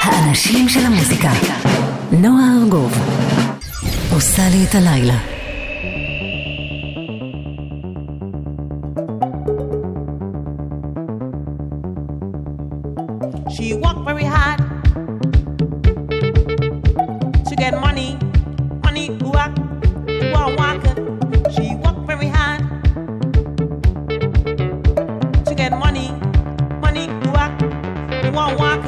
האנשים של המוזיקה. נועה ארגוב עושה לי את הלילה. She worked very hard to get money, work, She worked very hard to get money, work,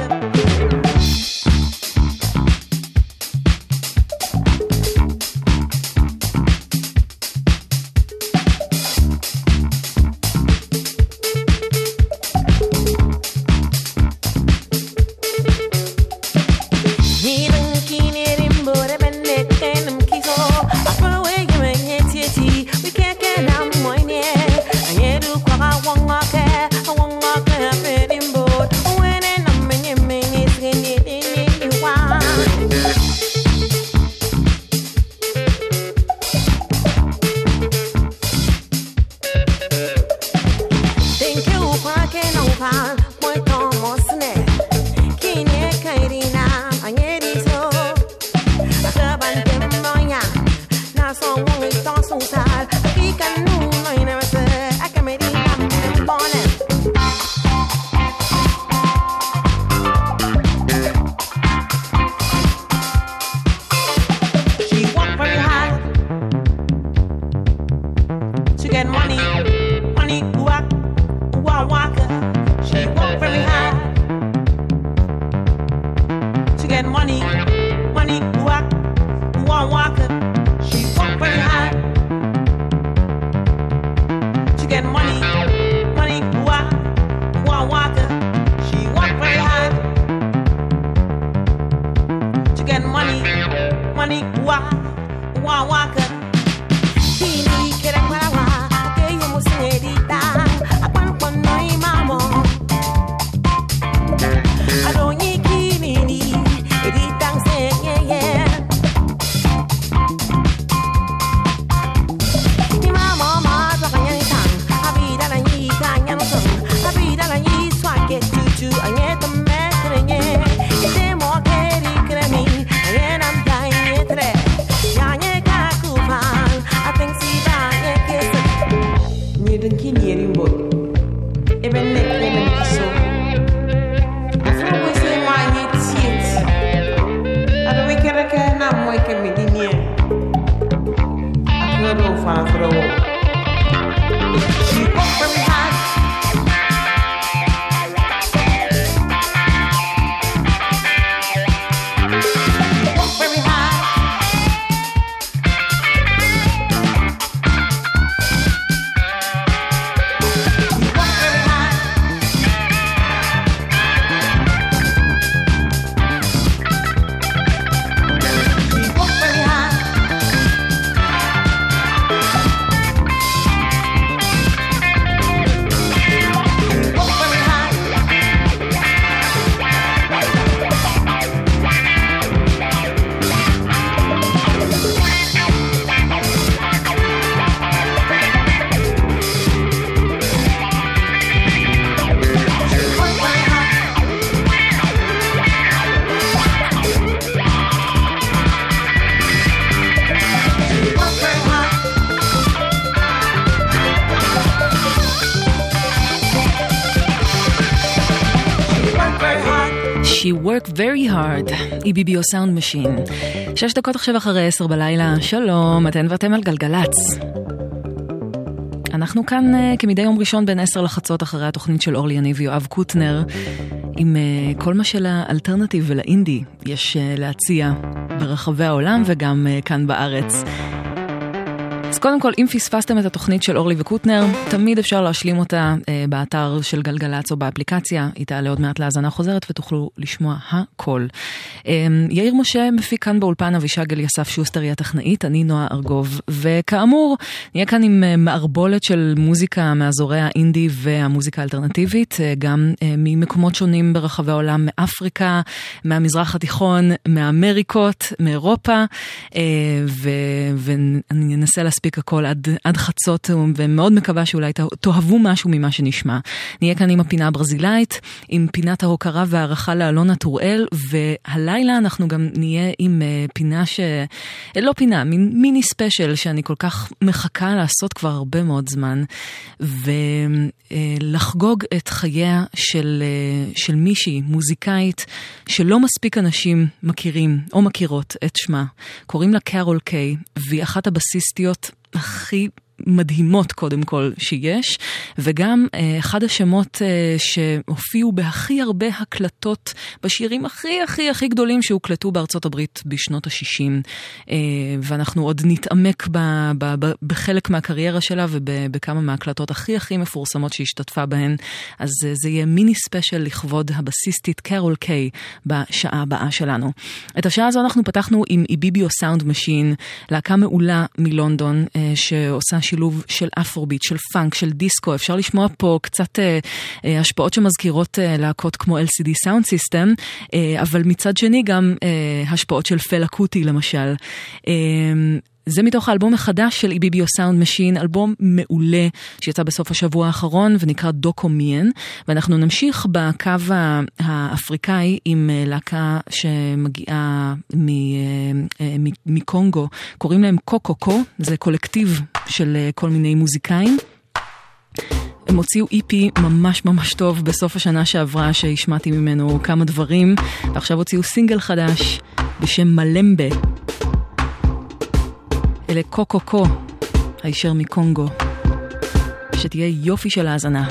She worked very hard, EBBO Sound Machine. 6 דקות עכשיו אחרי 10 בלילה, שלום, אתן ואתם על גלגלץ. אנחנו כאן כמדי יום ראשון בין 10 לחצות אחרי התוכנית של אורלי יניב ויואב קוטנר, עם כל מה של האלטרנטיב ולאינדי יש להציע ברחבי העולם וגם כאן בארץ. אז קודם כל, אם פספסתם את התוכנית של אורלי וקוטנר, תמיד אפשר להשלים אותה באתר של גלגלץ או באפליקציה. היא תעלה עוד מעט להאזנה חוזרת ותוכלו לשמוע הכל. יאיר משה מפיק כאן באולפן, אבישג אליסף שוסטר היא הטכנאית, אני נועה ארגוב. וכאמור, נהיה כאן עם מערבולת של מוזיקה מאזורי האינדי והמוזיקה האלטרנטיבית, גם ממקומות שונים ברחבי העולם, מאפריקה, מהמזרח התיכון, מאמריקות, מאירופה, ואני אנסה להספיק מספיק הכל עד חצות, ומאוד מקווה שאולי תאהבו משהו ממה שנשמע. נהיה כאן עם הפינה הברזילאית, עם פינת ההוקרה והערכה לאלונה טוראל, והלילה אנחנו גם נהיה עם פינה לא פינה, מיני ספיישל שאני כל כך מחכה לעשות כבר הרבה מאוד זמן, ולחגוג את חייה של מישהי, מוזיקאית, שלא מספיק אנשים מכירים או מכירות את שמה. קוראים לה קרול קיי, והיא אחת הבסיסטיות הכי מדהימות קודם כל שיש, וגם אחד השמות שהופיעו בהכי הרבה הקלטות בשירים הכי גדולים שהוקלטו בארצות הברית בשנות ה-60, ואנחנו עוד נתעמק בחלק מהקריירה שלה ובכמה מההקלטות הכי מפורסמות שהשתתפה בהן. אז זה יהיה מיני ספיישל לכבוד הבסיסטית קרול קיי בשעה הבאה שלנו. את השעה הזו אנחנו פתחנו עם איביביו סאונד משין, להקה מעולה מלונדון שעושה שילוב של אפרוביט, של פאנק, של דיסקו. אפשר לשמוע פה קצת השפעות שמזכירות להקות כמו LCD Sound System, אבל מצד שני גם השפעות של פלה קוטי למשל. זה מתוך האלבום החדש של איביביו סאונד משין, אלבום מעולה שיצא בסוף השבוע האחרון ונקרא דוקומיין, ואנחנו נמשיך בקו האפריקאי עם להקה שמגיעה מקונגו, קוראים להם קוקוקו, זה קולקטיב של כל מיני מוזיקאים. הם הוציאו EP ממש טוב בסוף השנה שעברה שהשמעתי ממנו כמה דברים, ועכשיו הוציאו סינגל חדש בשם מלמבה. אלה קוקוקו, הישר מקונגו. שתהיה יופי של האזנה.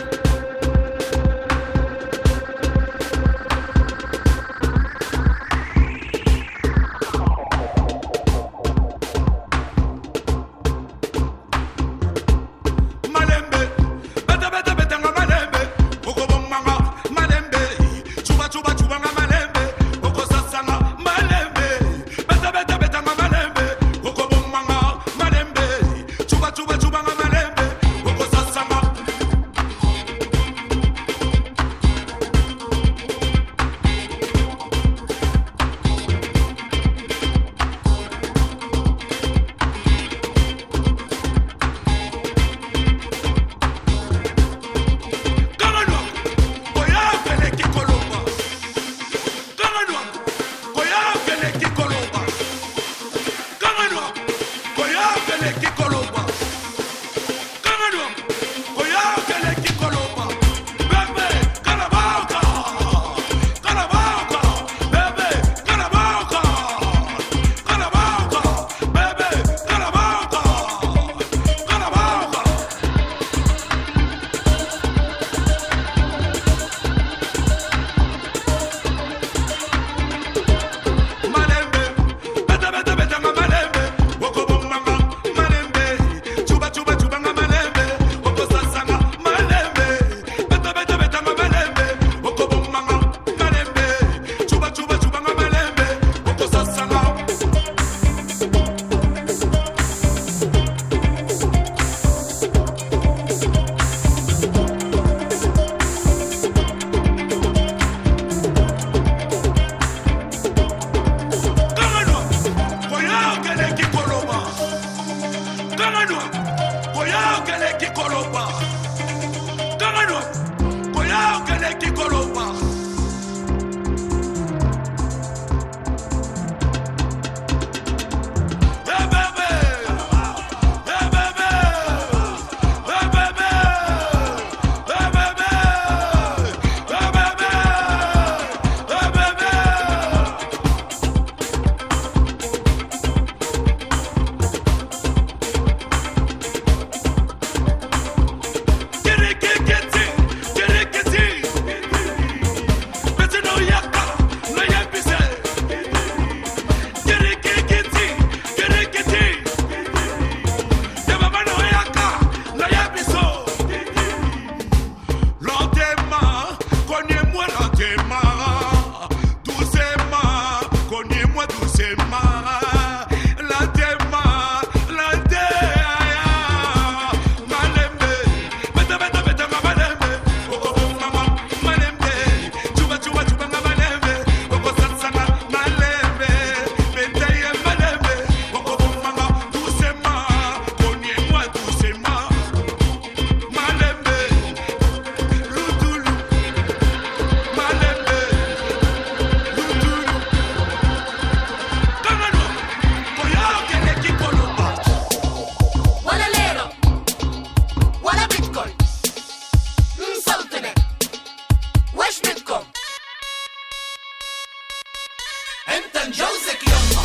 امتى نجوزك يما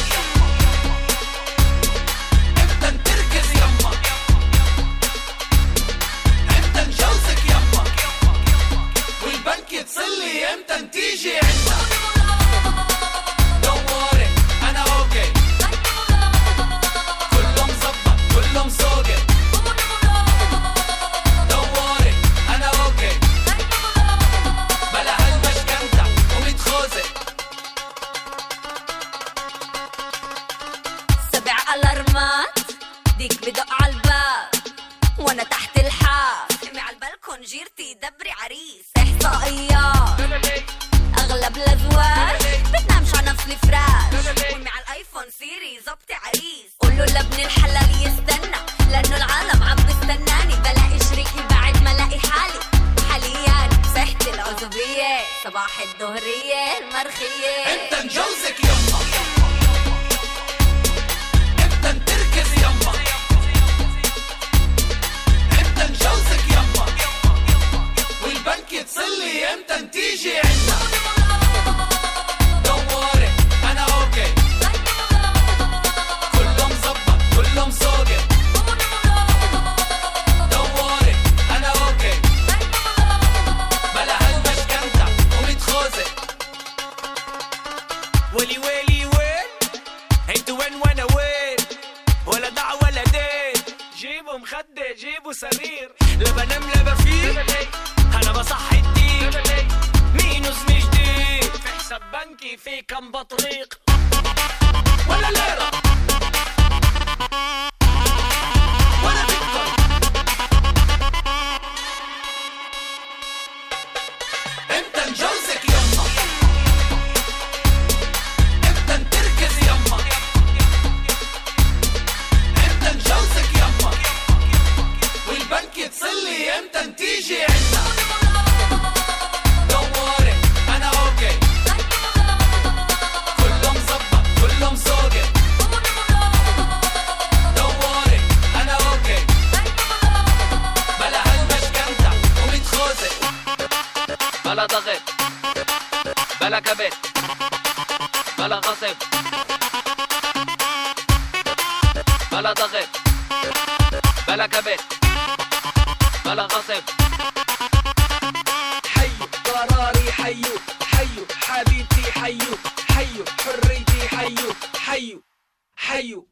امتى نتركز يما امتى نجوزك يما والبنك يتصلي امتى نتيجي عنا دوري انا اوكي كله مزبط كله مسوقي دوري انا اوكي بلا هالمشكنتة ومتخوزي 7 الارمات ديك بدق عالباب وانا تحت الحاف امي عالبالكون جيرتي دبري عريس احصائيات اغلب الازواج بتنامش على نفس الفراش امي عالايفون سيري زبطي عريس قولوا لابن الحلال يستنى لانه العالم عم بستناني بلاقي شريكي بعد ما لاقي حالي حاليا صحتي العزوبيه صباح الظهريه المرخيه امتى نجوزك يما امتى نتركز يما امتى نجوزك يما والبنك يتصلي امتى نتيجي عنا دوري انا اوكي كله مزبط كله مسوقي دوري انا اوكي بلا هالمشكنتة ومتخوزي ولي ويلي وين هيتو وين وانا وين ولا دع ولا دين جيبوا مخدة جيبوا سرير لا بنام لا بفيق انا بصحي الدين مينوس مش جديد في حساب بنكي في كم بطريق ولا ليرة ولا بيتكوين امتى نجوزك يما امتى نتركز يما امتى نجوزك يما والبنك يتصلي امتى نتيجي عنا دوري انا اوكي كله مزبط كله مسوقي دوري انا اوكي بلا هالمشكنتة ومتخوزي بلا ضغط بلا كبت بلا غصب بلا ضغط بلا كبت بلا غصب حيو قراري حيو حيو حبيبتي حيو حيو حريتي حيو حيو حيو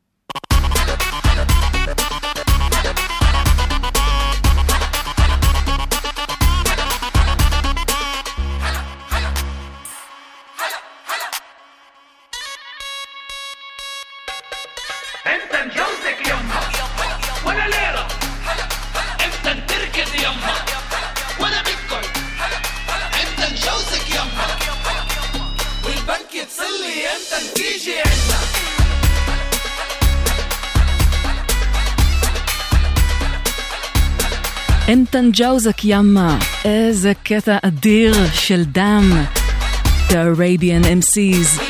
انت نجوزك يما ولا ليرة انت نتركز يما ولا بيتكوين انت نجوزك يما والبنك يتصلي انت نتيجي عنا אמתא נג'אוזק ימה, איזה קטע אדיר של דם, The Arabian MCs.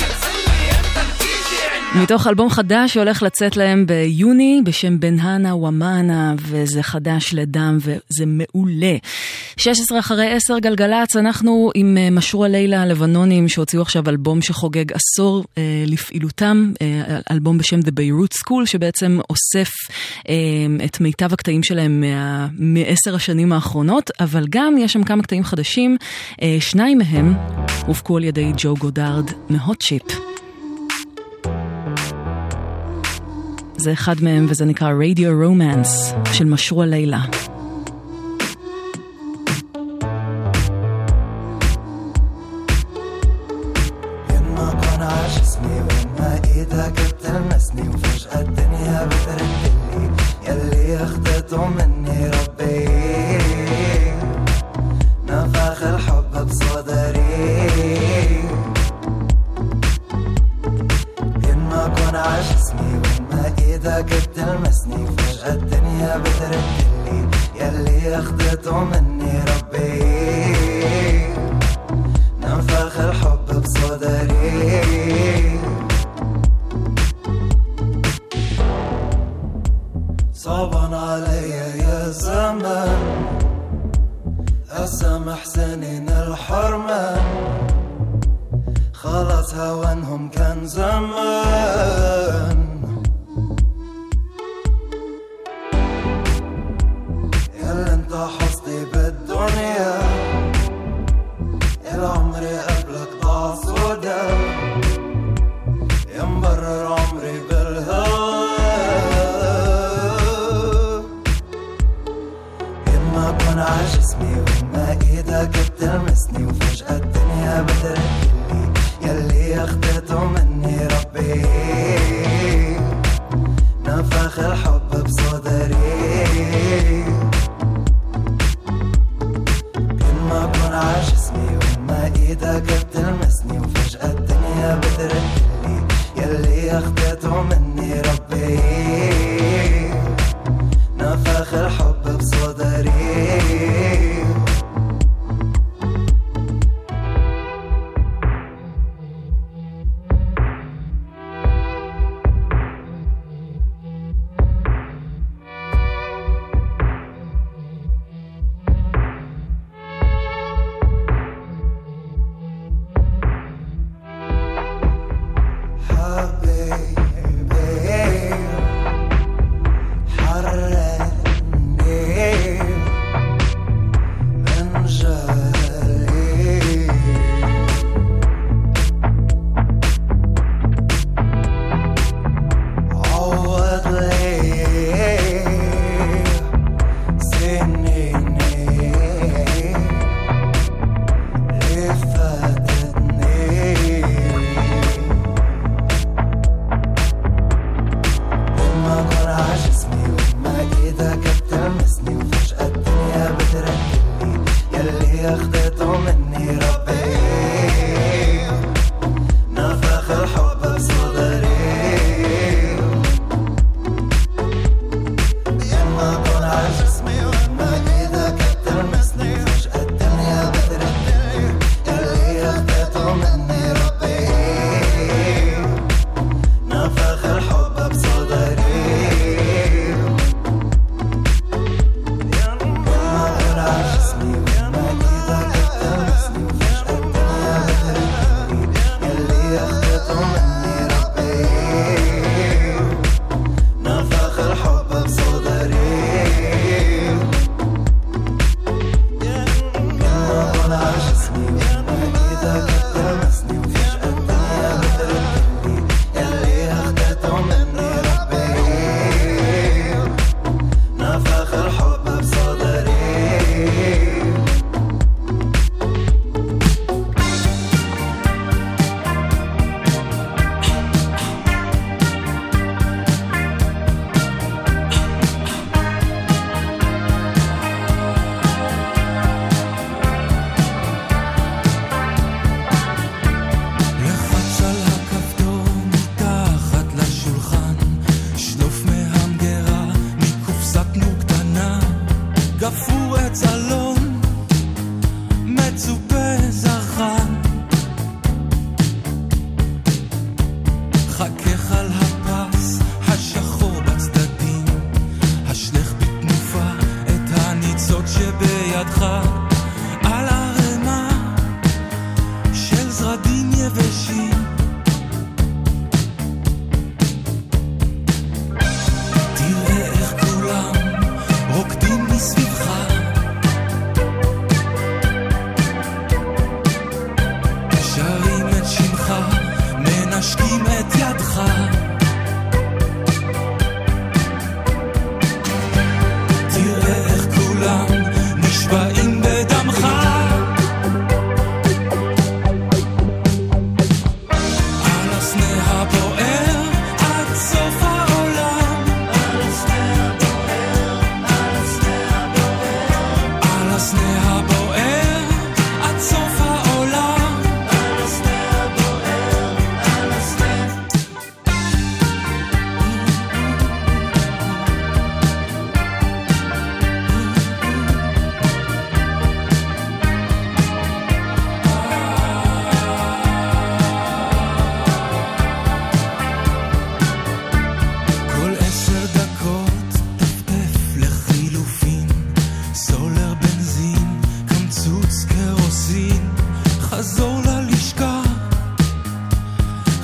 מתוך אלבום חדש שהולך לצאת להם ביוני בשם בנהנה ומאנה, וזה חדש לדם וזה מעולה. 16 אחרי 10 גלגלץ, אנחנו עם משרו הלילה הלבנונים שהוציאו עכשיו אלבום שחוגג עשור לפעילותם, אלבום בשם The Beirut School שבעצם אוסף את מיטב הקטעים שלהם מ10 השנים האחרונות, אבל גם יש שם כמה קטעים חדשים, 2 מהם הופקו על ידי ג'ו גודארד מהוט צ'יפ. זה אחד מהם וזה נקרא Radio Romance של משרו הלילה. تلمسني وفجأة الدنيا بتردلي يلي اخدته مني ربي نفخ الحب بصدري ين ما كون عجزني وين ما ايدك بتلمسني فجأة الدنيا بتردلي يلي اخدته مني ربي نفخ الحب بصدري صعبان علي يا زمان أسامح سنين الحرمان خلاص هوانهم كان زمان. يلا انت حظي بالدنيا، العمر قبلك ضاع سودا، يا مبرر عمري بالهوى. يما كون عجزني وما ايدك بتلمسني، وفجأة الدنيا بتركلي يلي اخدته مني ربي. نفخ الحب بصدري، يما كون عجزني وما ايدك بتلمسني، وفجأة الدنيا بتركلي يلي اخدته مني ربي. نفخ الحب بصدري.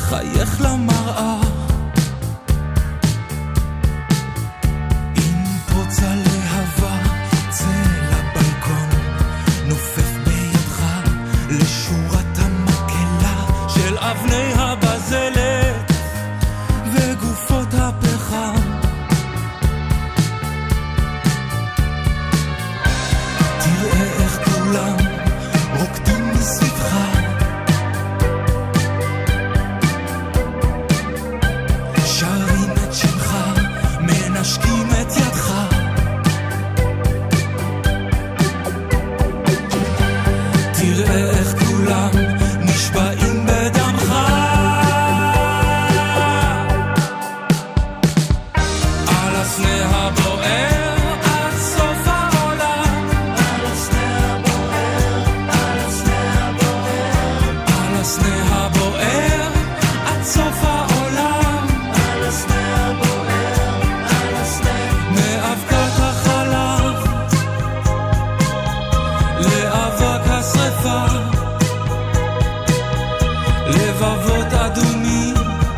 חייך למראה אם פוצה להבה צא לבלקון נופף בידך לשורת המקלה של אבני הבזלת וגופות הפחם תראה איך כולם רוקדים מסביבך שרים את שמך מנשקים את ידך תראה איך כולם נשבעים בדמך על הסנה הבוער עד סוף העולם על הסנה הבוער על הסנה הבוער על הסנה הבוער עד סוף העולם על הסנה הבוער על הסנה מאבקת החלב לאבק השרפה לבבות אדומים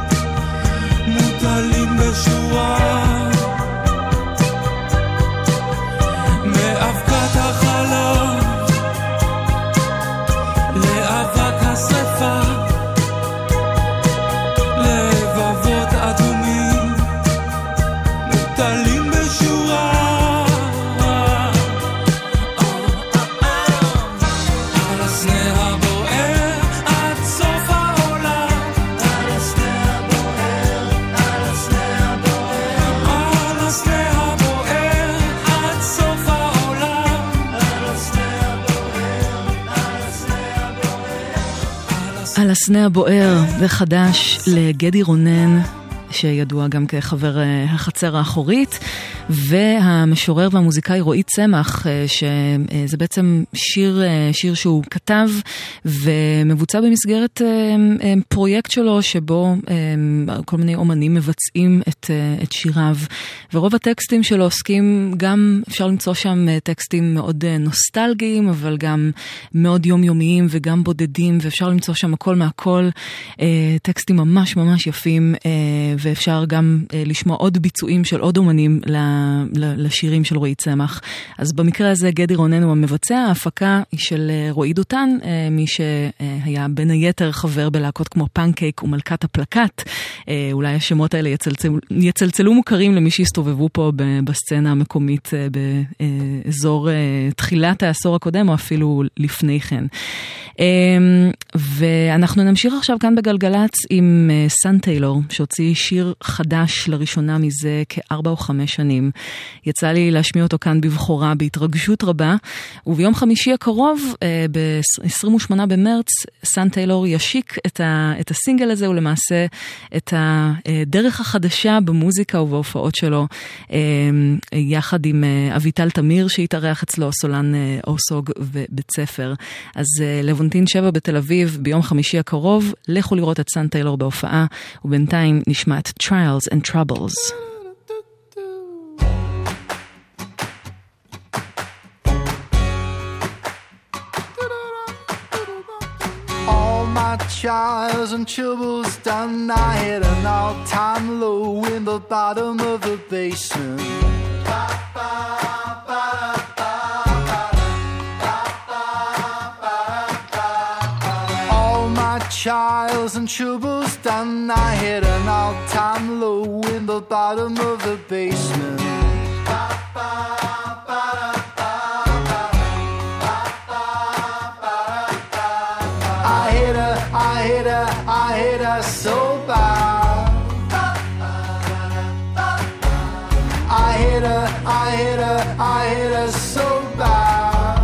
מוטלים בשורה מאבקת החלב לאבק השרפה לבבות אדומים מוטלים בשורה על הסנה הבוער עד סוף העולם על הסנה הבוער על הסנה הבוער על הסנה הבוער עד סוף העולם על הסנה הבוער על הסנה הבוער על הסנה הבוער, זה חדש לגדי רונן, שידוע גם כחבר החצר האחורית, והמשורר והמוזיקאי רועי צמח, שזה בעצם שיר שהוא כתב ומבוצע במסגרת פרויקט שלו, שבו כל מיני אומנים מבצעים את שיריו, ורוב הטקסטים שלו עוסקים גם, אפשר למצוא שם טקסטים מאוד נוסטלגיים, אבל גם מאוד יומיומיים וגם בודדים, ואפשר למצוא שם הכל מהכל, טקסטים ממש ממש יפים, ואפשר גם לשמוע עוד ביצועים של עוד אומנים לשירים של רועי צמח. אז במקרה הזה גדי רונן הוא המבצע, ההפקה היא של רועי דותן, מי שהיה בין היתר חבר בלהקות כמו פנקייק ומלכת הפלקט. אולי השמות האלה יצלצלו מוכרים למי שהסתובבו פה בסצנה המקומית באזור תחילת העשור הקודם, או אפילו לפני כן. ואנחנו נמשיך עכשיו כאן בגלגלץ עם סן טיילור, שהוציא שיר חדש לראשונה מזה כ4 או 5 שנים. יצא לי להשמיע אותו כאן בבחורה בהתרגשות רבה, וביום חמישי הקרוב, ב-28 במרץ, סן טיילור ישיק את הסינגל הזה, ולמעשה את הדרך החדשה במוזיקה ובהופעות שלו, יחד עם אביטל תמיר שהתארח אצלו, סולן אורסוג ובית ספר. אז לבונטין 7 בתל אביב, ביום חמישי הקרוב, לכו לראות את סן טיילור בהופעה, ובינתיים נשמע את Trials and Troubles. All my trials and troubles done, I hit an all-time low in the bottom of the basement. All my trials and troubles done, I hit an all-time low in the bottom of the basement. I hit her so bad. I hit her so bad.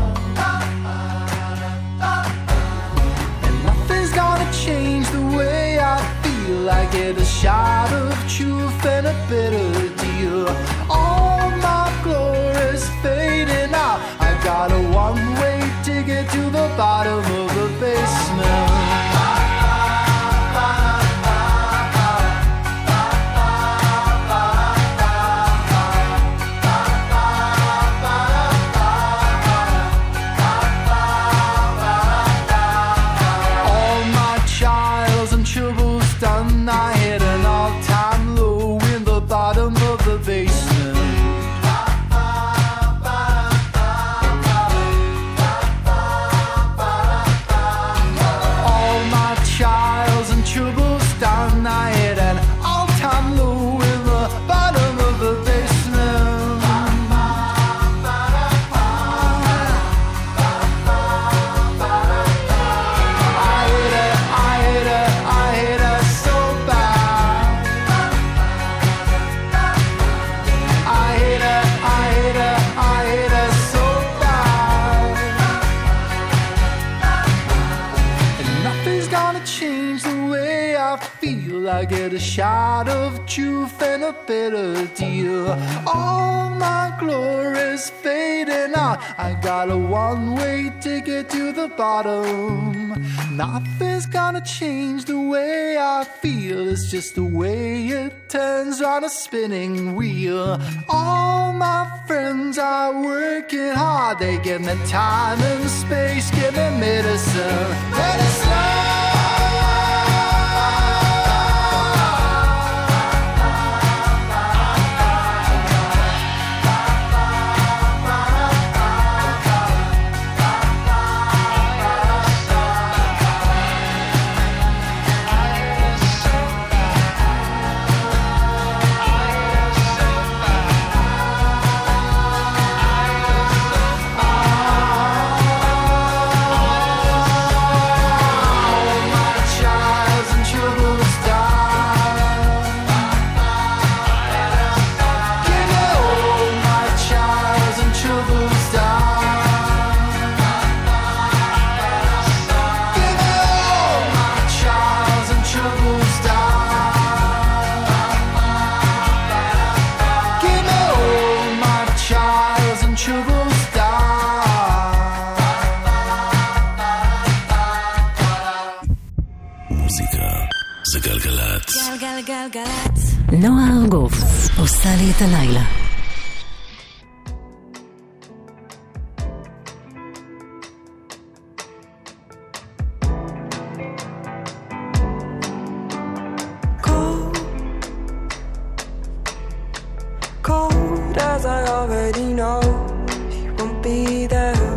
And nothing's gonna change the way I feel. I get a shot of truth and a bitter deal. All my glory's fading out. I got a one-way ticket to the bottom of the basement. Done, I feel. I get a shot of truth and a bitter deal. All my glory's fading out. I got a one-way ticket to the bottom. Nothing's gonna change the way I feel. It's just the way it turns on a spinning wheel. All my friends are working hard. They give me time and space, give me medicine. Medicine! גלגלצ. נועה ארגוב עושה לי את הלילה. Cold as I already know, she won't be there.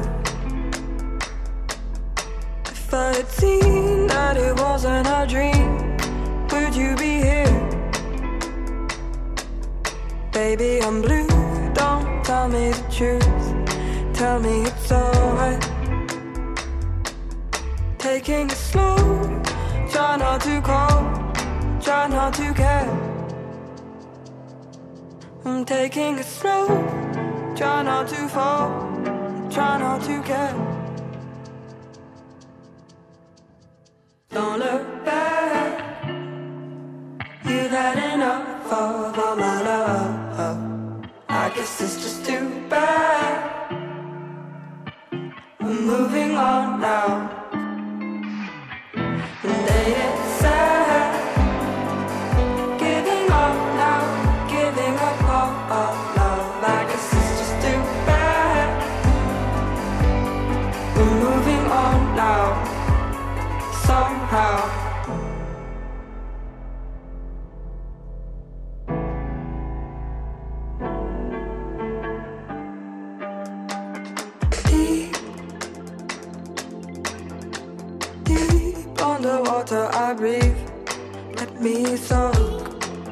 If I had seen that it wasn't a dream, would you be here? Baby, I'm blue, don't tell me the truth. Tell me it's alright. Taking it slow, try not to call, try not to care. I'm taking it slow, try not to fall, try not to care. Don't look back, you've had enough of all my love. I guess it's just too bad. I'm moving on now. And ain't it sad? Giving up now, giving up all love. I guess it's just too bad. We're moving on now, somehow. Underwater I breathe, let me soak.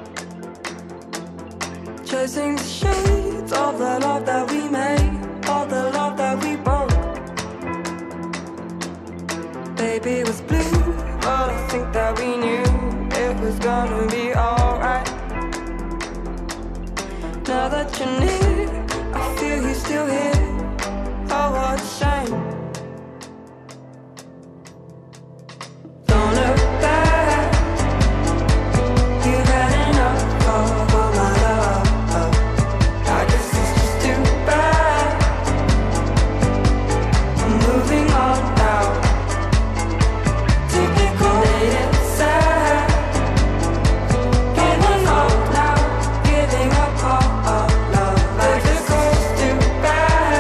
Chasing the shades of the love that we made, of the love that we broke. Baby, it was blue, but I think that we knew it was gonna be alright. Now that you're near, I feel you still here. Oh, what a shame. Giving up all love, like the coast too bad.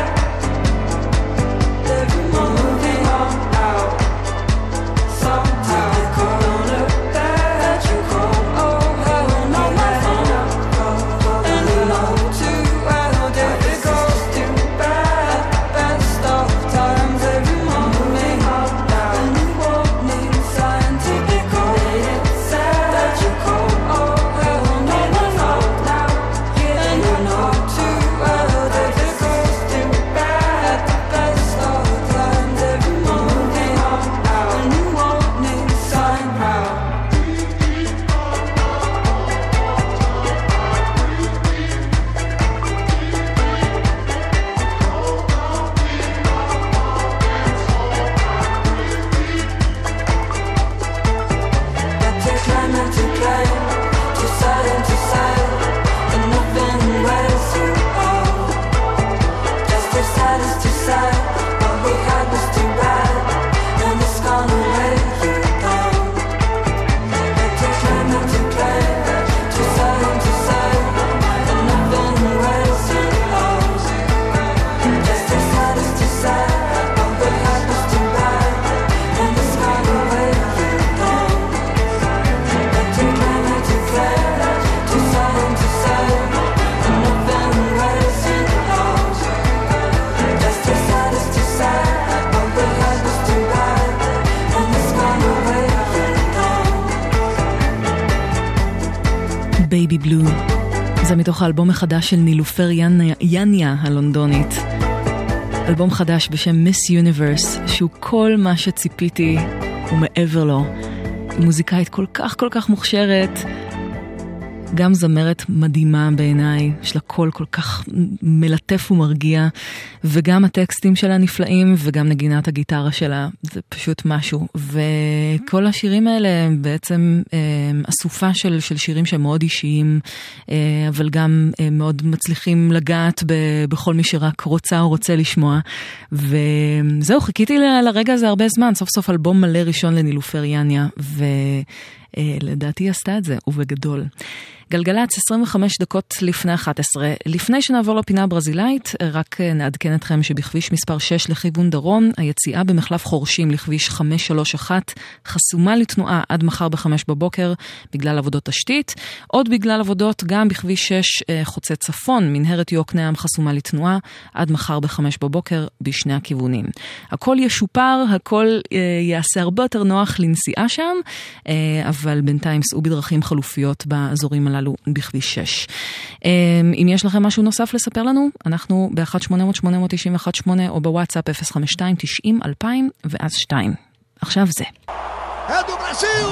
Baby Blue. זה מתוך האלבום החדש של נילופר יניה הלונדונית. אלבום חדש בשם Miss Universe, שהוא כל מה שציפיתי ומעבר לו. מוזיקאית כל כך מוכשרת, גם זמרת מדהימה בעיניי, יש לה קול כל כך מלטף ומרגיע, וגם הטקסטים שלה נפלאים, וגם נגינת הגיטרה שלה, זה פשוט משהו. וכל השירים האלה הם בעצם אסופה של שירים שהם מאוד אישיים, אבל גם מאוד מצליחים לגעת בכל מי שרק רוצה או רוצה לשמוע. וזהו, חיכיתי לרגע הזה הרבה זמן, סוף סוף אלבום מלא ראשון לנילופר יניה, לדעתי עשתה את זה, ובגדול. גלגלץ 25 דקות לפני 11. לפני שנעבור לפינה הברזילאית, רק נעדכן אתכם שבכביש מספר 6 לכיוון דרום, היציאה במחלף חורשים לכביש 531 חסומה לתנועה עד מחר ב-5 בבוקר בגלל עבודות תשתית. עוד בגלל עבודות גם בכביש 6 חוצה צפון, מנהרת יוקנעם חסומה לתנועה עד מחר ב-5 בבוקר בשני הכיוונים. הכל ישופר, הכל יעשה הרבה יותר נוח לנסיעה שם, אבל בינתיים סעו בדרכים חלופיות באזורים הללו בכביש 6. אם יש לכם משהו נוסף לספר לנו, אנחנו ב-1-800-891-8 או בוואטסאפ 052-90-2000 ואז 2. עכשיו זה. אדו ברזיל!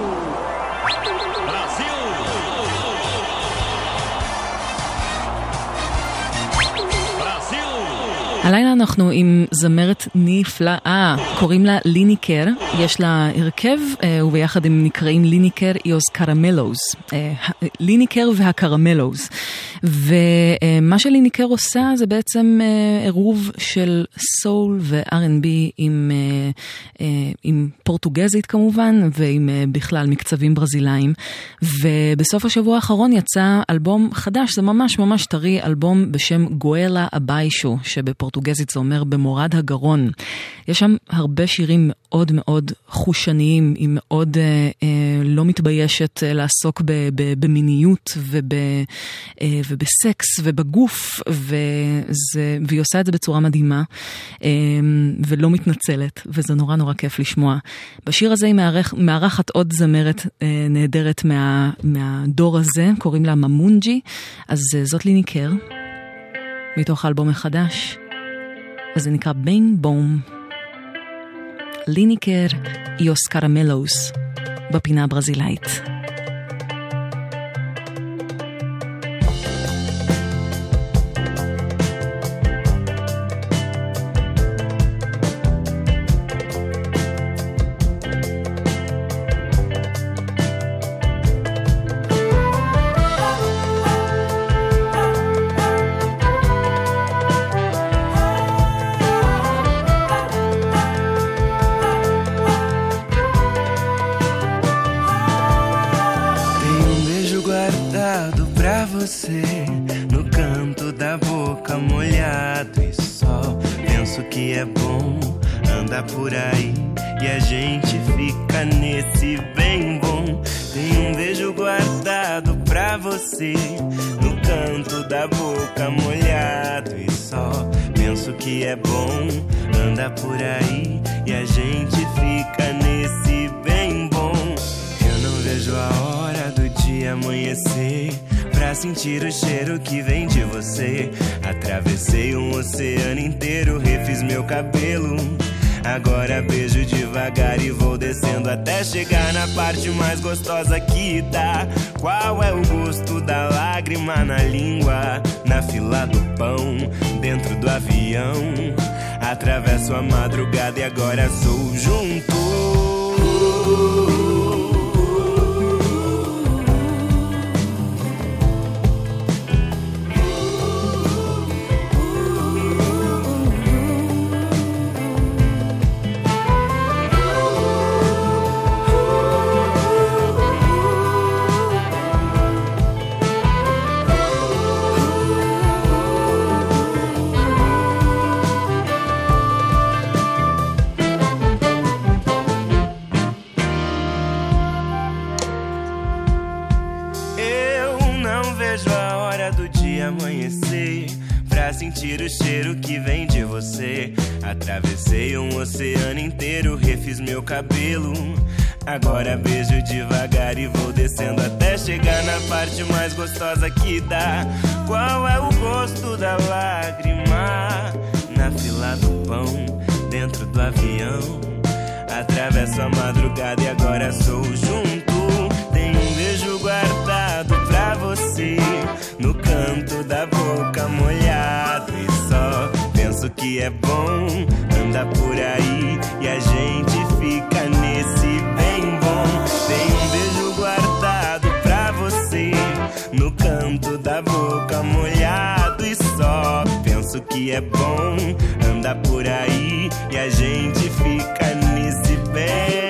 הלילה אנחנו עם זמרת נפלאה, קוראים לה ליניקר, יש לה הרכב, וביחד הם נקראים ליניקר איוס קרמלוז, ליניקר והקרמלוז, ומה שליניקר עושה זה בעצם עירוב של סול ו-R&B עם פורטוגזית כמובן, ועם בכלל מקצבים ברזילאים, ובסוף השבוע האחרון יצא אלבום חדש, זה ממש טרי, אלבום בשם גואלה אביישו, שבפורטוגזית זה אומר במורד הגרון. יש שם הרבה שירים מאוד מאוד חושניים, היא מאוד לא מתביישת לעסוק במיניות ובסקס ובגוף, והיא עושה את זה בצורה מדהימה, ולא מתנצלת, וזה נורא כיף לשמוע. בשיר הזה היא מארחת עוד זמרת נהדרת מהדור הזה, קוראים לה ממונג'י, אז זאת ליניקר, מתוך האלבום החדש, אז זה נקרא ביין בום. ליניקר איוס קרמלוס בפינה הברזילאית. No canto da boca molhado e só penso que é bom andar por aí e a gente fica nesse bem bom. Tem beijo guardado pra você no canto da boca molhado e só penso que é bom andar por aí e a gente fica nesse bem bom. Eu não vejo a hora do dia amanhecer pra sentir o cheiro que vem de você. Atravessei oceano inteiro, refiz meu cabelo. Agora beijo devagar e vou descendo até chegar na parte mais gostosa que dá. Qual é o gosto da lágrima na língua, na fila do pão, dentro do avião? Atravesso a madrugada e agora sou junto. Amanhecer pra sentir o cheiro que vem de você. Atravessei oceano inteiro, refiz meu cabelo. Agora beijo devagar e vou descendo até chegar na parte mais gostosa que dá. Qual é o gosto da lágrima? Na fila do pão, dentro do avião. Atravesso a madrugada e agora sou junto. Tenho um beijo guardado pra você, no canto da boca molhado. E só penso que é bom andar por aí e a gente fica nesse bem bom. Tenho um beijo guardado pra você, no canto da boca molhado. E só penso que é bom andar por aí e a gente fica nesse bem.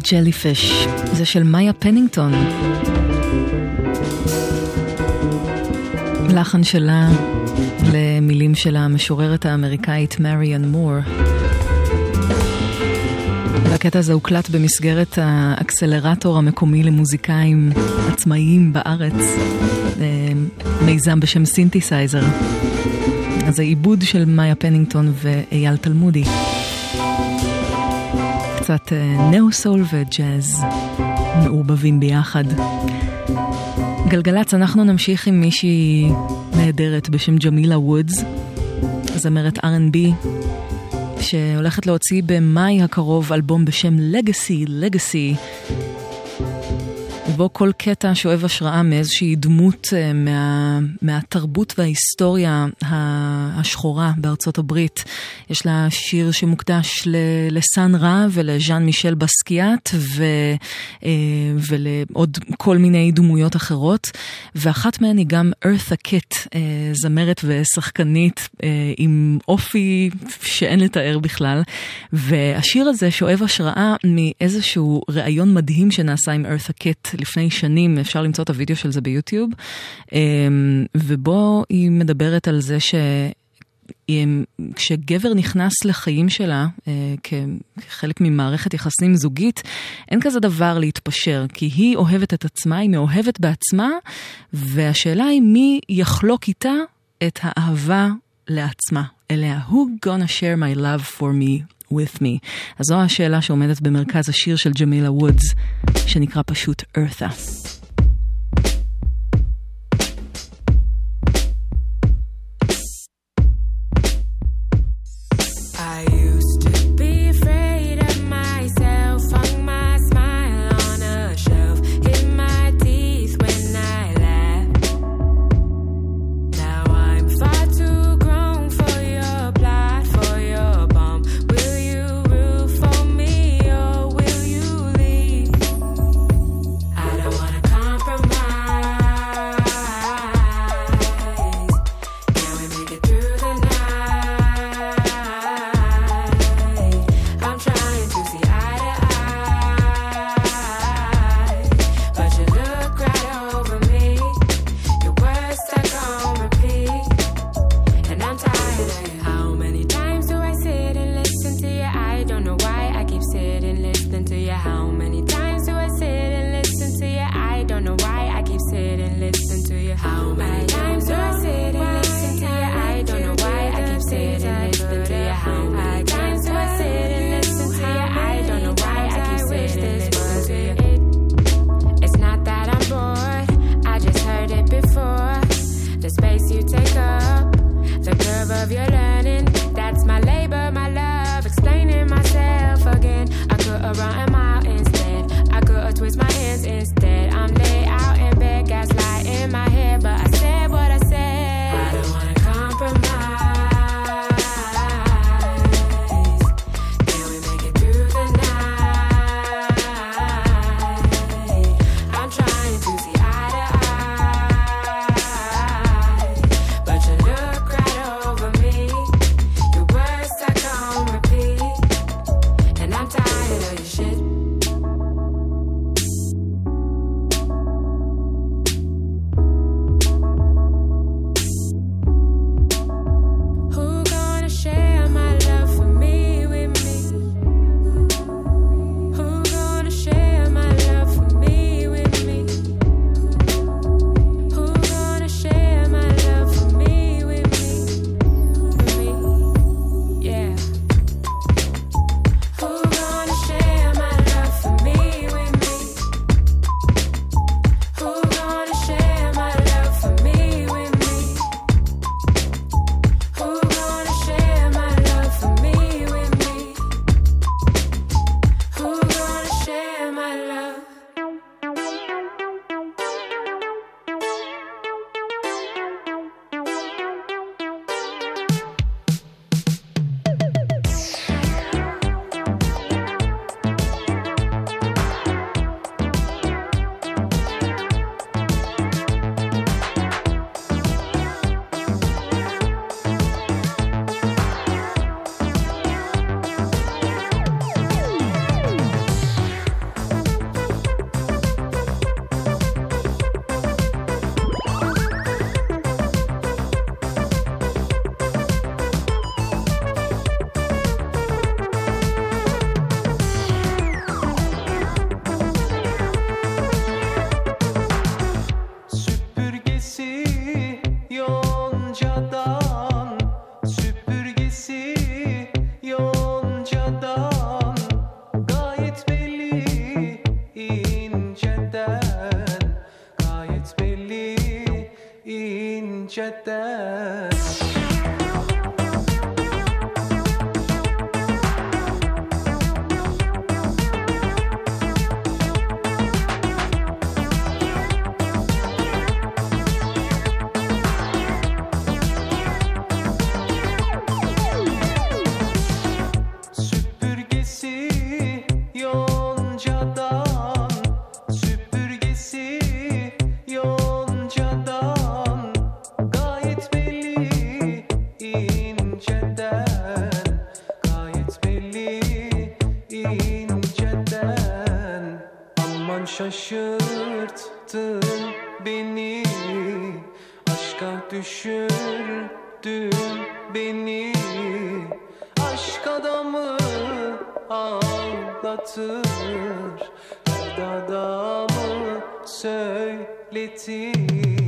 Jellyfish, זה של מאיה פנינגטון. לחן שלה למילים של המשוררת האמריקאית מריאן מור. והקטע הזה הוקלט במסגרת האקסלרטור המקומי למוזיקאים עצמאיים בארץ, מיזם בשם סינתסייזר. אז העיבוד של מאיה פנינגטון ואייל תלמודי. קצת נאו-סול וג'אז מעורבבים ביחד. גלגלץ, אנחנו נמשיך עם מישהי נהדרת בשם ג'מילה וודס, זמרת R&B, שהולכת להוציא במאי הקרוב אלבום בשם Legacy, ובו כל קטע שואב השראה מאיזושהי דמות מהתרבות וההיסטוריה השחורה בארצות הברית. יש לה שיר שמוקדש לסן רע ולז'אן מישל בסקיאט ולעוד כל מיני דמויות אחרות, ואחת מהן היא גם ארת'ה קיט, זמרת ושחקנית עם אופי שאין לתאר בכלל, והשיר הזה שואב השראה מאיזשהו ראיון מדהים שנעשה עם ארת'ה קיט לפני שנים, אפשר למצוא את הוידאו של זה ביוטיוב, ובו היא מדברת על זה כשגבר נכנס לחיים שלה כחלק ממערכת יחסים זוגית, אין כזה דבר להתפשר, כי היא אוהבת את עצמה, היא מאוהבת בעצמה, והשאלה היא מי יחלוק איתה את האהבה לעצמה, אליה. Who gonna share my love for me with me? אז זו השאלה שעומדת במרכז השיר של ג'מילה וודס, שנקרא פשוט ארת'ה. Instead, I'm laid out in bed, gaslighting my head, but I said yoncadan gayet belli inceden, gayet belli inceden. Şaşırttın beni, aşka düşürdün beni. Aşk adamı ağlatır, dert adamı söyletir.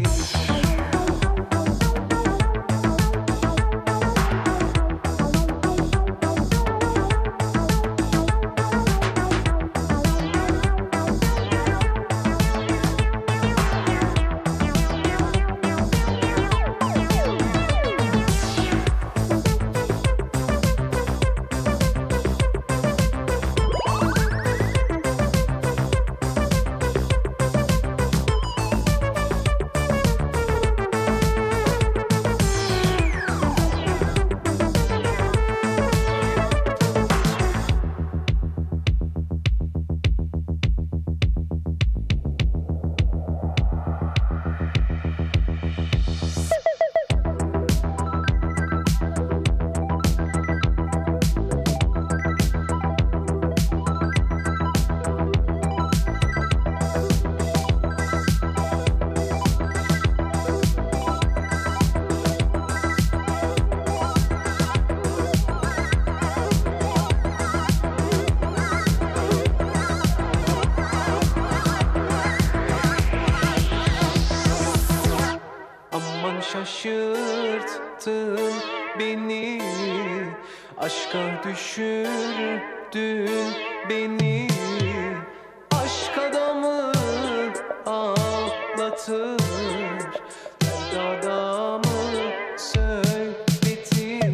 Şaşırttın beni, aşka düşürdün beni. Aşk adamı ağlatır, dert adamı söyletir.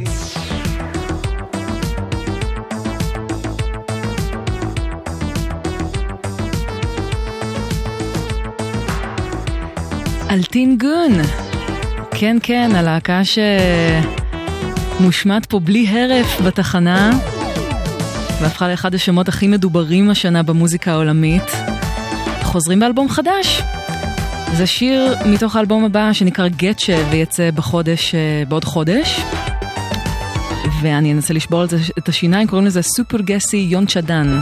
אלטין גון, כן כן, הלהקה שמושמעת פה בלי הרף בתחנה והפכה לאחד השמות הכי מדוברים השנה במוזיקה העולמית. חוזרים באלבום חדש, זה שיר מתוך האלבום הבא שנקרא גטשה ויצא בעוד חודש, ואני אנסה לשבור על זה את השיניים. קוראים לזה סופר גסי יונצ'דן.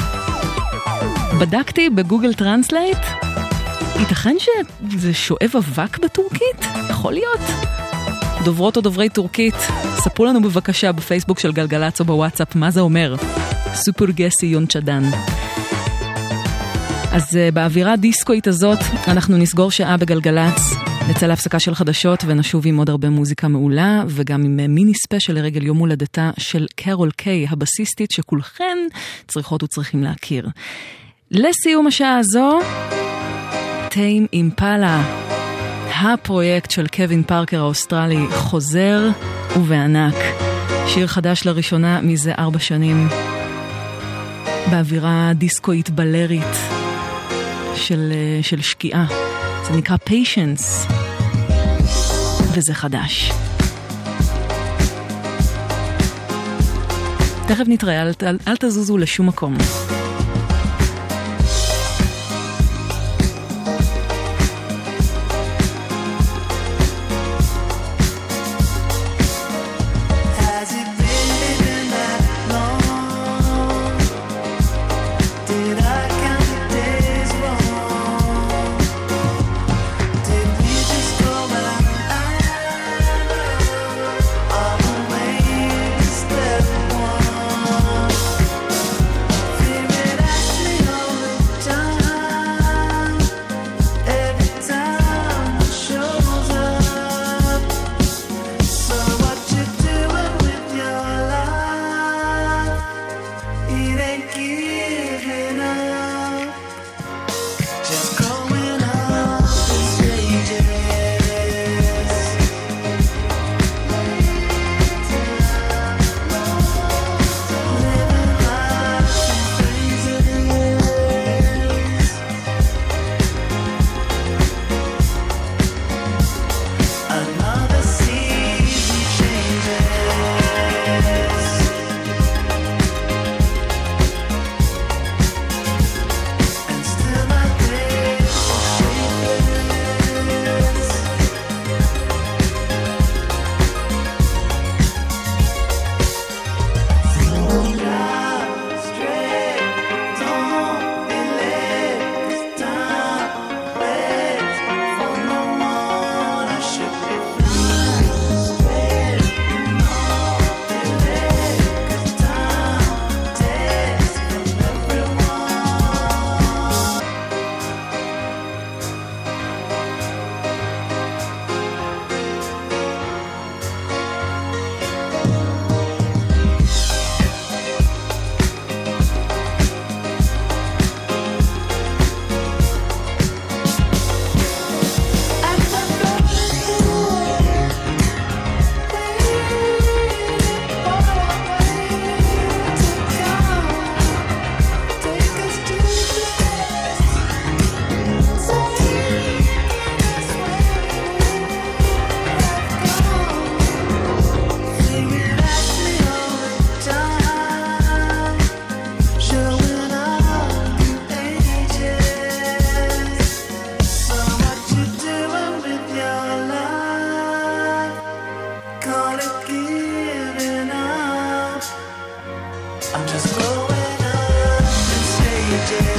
בדקתי בגוגל טרנסלייט, ייתכן שזה שואב אבק בטורקית? יכול להיות. דוברות או דוברי טורקית, ספרו לנו בבקשה בפייסבוק של גלגלצ או בוואטסאפ מה זה אומר. סופר גסי יונצ'דן. אז באווירה דיסקואית הזאת אנחנו נסגור שעה בגלגלצ, נצא להפסקה של חדשות ונשוב עם עוד הרבה מוזיקה מעולה, וגם עם מיני ספיישל לרגל יום הולדתה של קרול קיי, הבסיסטית שכולכן צריכות וצריכים להכיר. לסיום השעה הזו, טיים אימפלה, הפרויקט של קווין פארקר האוסטרלי, חוזר ובענק. שיר חדש לראשונה מזה 4 שנים, באווירה דיסקואית בלרית של שקיעה. זה נקרא Patience, וזה חדש. תכף נתראה, אל תזוזו לשום מקום. Feel I'm just growing up in stages.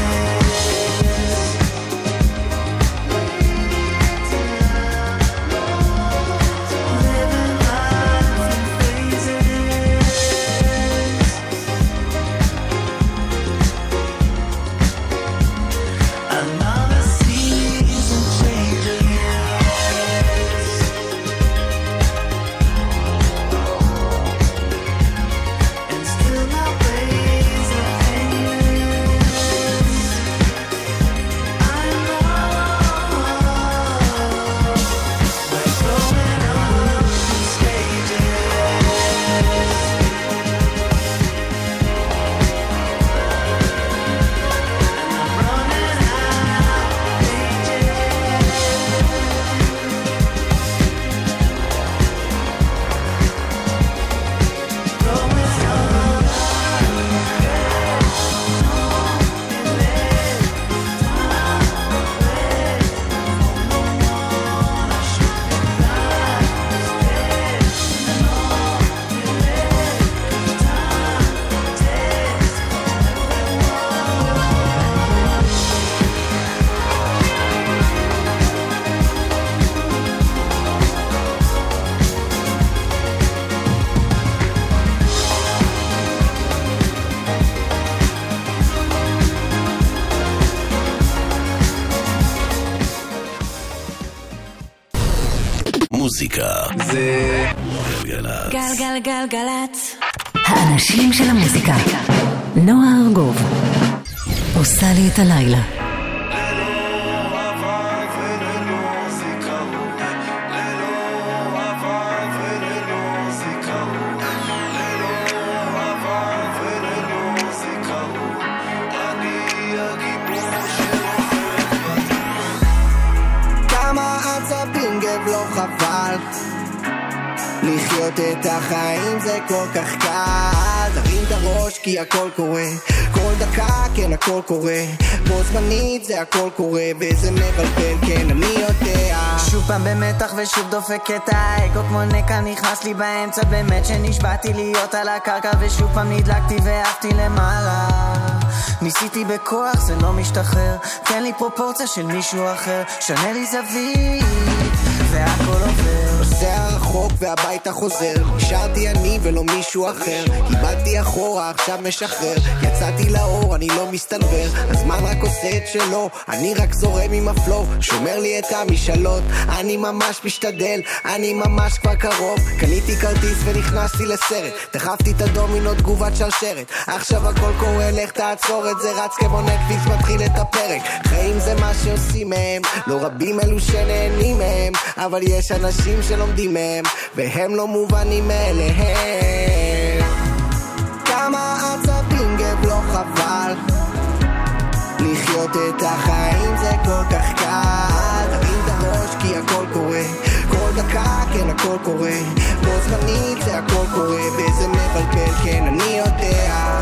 מוזיקה זה גלגלצ. גלגלגלגלצ. האנשים של המוזיקה. נועה ארגוב עושה לי את הלילה. לחיות את החיים זה כל כך קל, תרים את הראש כי הכל קורה, כל דקה כן הכל קורה, בו זמנית זה הכל קורה וזה מבלבל כן אני יודע. שוב פעם במתח ושוב דופק את האגו כמו נקע נכנס לי באמצע, באמת שנשבעתי להיות על הקרקע ושוב פעם נדלקתי ואהבתי למעלה, ניסיתי בכוח זה לא משתחרר, תן לי פרופורציה של מישהו אחר, שנה לי זווית והכל עובר, זה הרחוק והביתה חוזר, נשארתי אני ולא מישהו אחר, איבדתי אחורה עכשיו משחרר, יצאתי לאור אני לא מסתנבר, הזמן רק עושה את שלו, אני רק זורם עם הפלו, שומר לי את המשאלות, אני ממש משתדל, אני ממש כבר קרוב, קניתי כרטיס ונכנסתי לסרט, דחפתי את הדומינו תגובת שרשרת, עכשיו הכל קורה לך תעצור את זה, רץ כמו נטפליקס מתחיל את הפרק, חיים זה מה שעושים מהם, לא רבים אלו שנהנים מהם, אבל יש אנשים שלומדים מהם והם לא מובנים אליהם. כמה עצבים גב לא חבל, לחיות את החיים זה כל כך קל, תרים את הראש כי הכל קורה, כל דקה כן הכל קורה, בו זמנית זה הכל קורה וזה מבלבל כן אני יודע.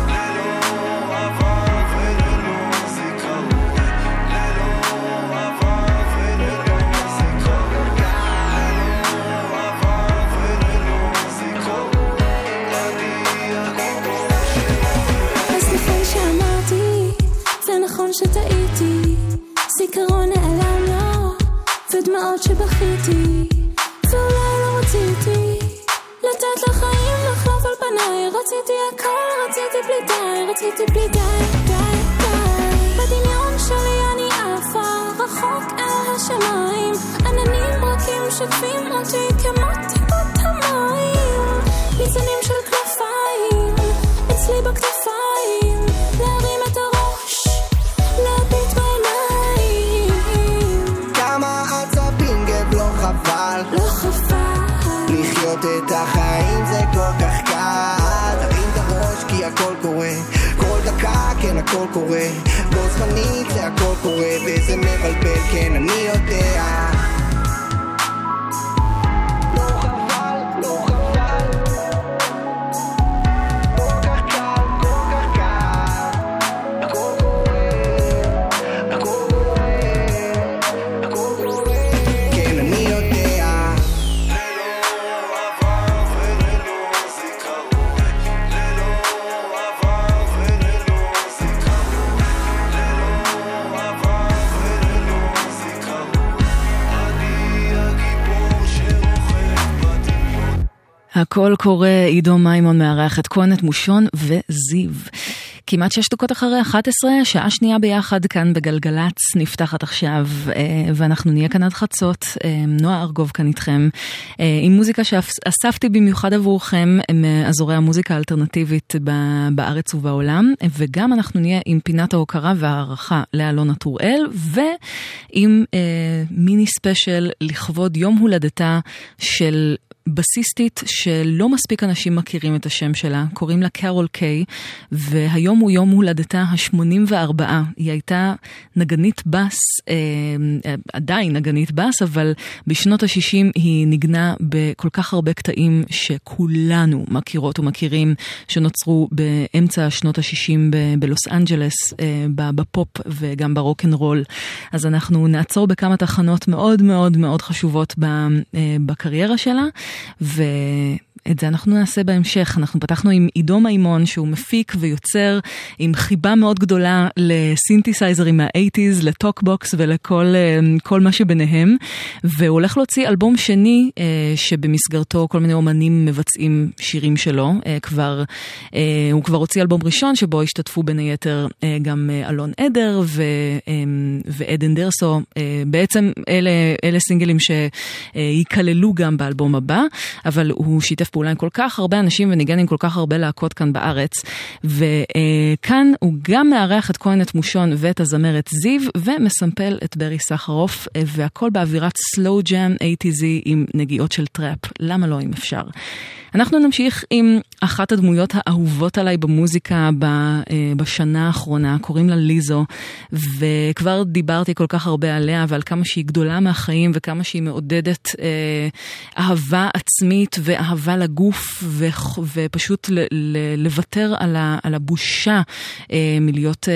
נכון שטעיתי, זיכרון נעלם לו ודמעות שבכיתי, ואולי לא רציתי לתת לחיים לחלוף על פניי, רציתי הכל, רציתי בלי די, רציתי בלי די, די, די. בדמיון שלי אני עפה רחוק אל השמיים, עננים רכים שקפים אותי כמו טיפות המים, ניצנים של כנפיים אצלי בכתפיים, להרים את הראש להביט בעיניים. כמה עצבים גב לא חבל, לא חבל, לחיות את החיים זה כל כך קל, תרים את הראש כי הכל קורה, כל דקה כן הכל קורה, בו זמנית זה הכל קורה וזה מבלבל כן אני יודע. קול קורא, עידו מימון מארח את כהן, את מושון וזיו. כמעט 6 דקות אחרי 11, שעה שנייה ביחד כאן בגלגלץ נפתחת עכשיו, ואנחנו נהיה כאן עד חצות. נועה ארגוב כאן איתכם, עם מוזיקה שאספתי במיוחד עבורכם, מאזורי המוזיקה האלטרנטיבית בארץ ובעולם, וגם אנחנו נהיה עם פינת ההוקרה והערכה לאלונה טוראל, ועם מיני ספיישל לכבוד יום הולדתה של בסיסטית שלא מספיק אנשים מכירים את השם שלה, קוראים לה קרול קיי, והיום הוא יום הולדתה ה-84. היא הייתה נגנית בס, עדיין נגנית בס, אבל בשנות ה-60 היא נגנה בכל כך הרבה קטעים שכולנו מכירות ומכירים, שנוצרו באמצע שנות ה-60 בלוס אנג'לס, בפופ וגם ברוק'נ'רול. אז אנחנו נעצור בכמה תחנות מאוד מאוד מאוד חשובות בקריירה שלה, ואת זה אנחנו נעשה בהמשך. אנחנו פתחנו עם עידו מימון, שהוא מפיק ויוצר עם חיבה מאוד גדולה לסינתסייזרים מה-80s, לטוקבוקס ולכל מה שביניהם, והוא הולך להוציא אלבום שני שבמסגרתו כל מיני אומנים מבצעים שירים שלו. הוא כבר הוציא אלבום ראשון שבו השתתפו בין היתר גם אלון עדר ועדן דרסו. בעצם אלה סינגלים שיקללו גם באלבום הבא, אבל הוא שיתף פעולה עם כל כך הרבה אנשים וניגן עם כל כך הרבה להקות כאן בארץ, וכאן הוא גם מארח את כהן, את מושון ואת הזמרת זיו, ומסמפל את ברי סחרוף, והכל באווירת סלואו ג'אם 80s עם נגיעות של טראפ. למה לא, אם אפשר? אנחנו נמשיך עם אחת הדמויות האהובות עליי במוזיקה בשנה האחרונה, קוראים לה ליזו, וכבר דיברתי כל כך הרבה עליה ועל כמה שהיא גדולה מהחיים וכמה שהיא מעודדת אהבה עצמית ואהבה לגוף, ופשוט לוותר על הבושה מלהיות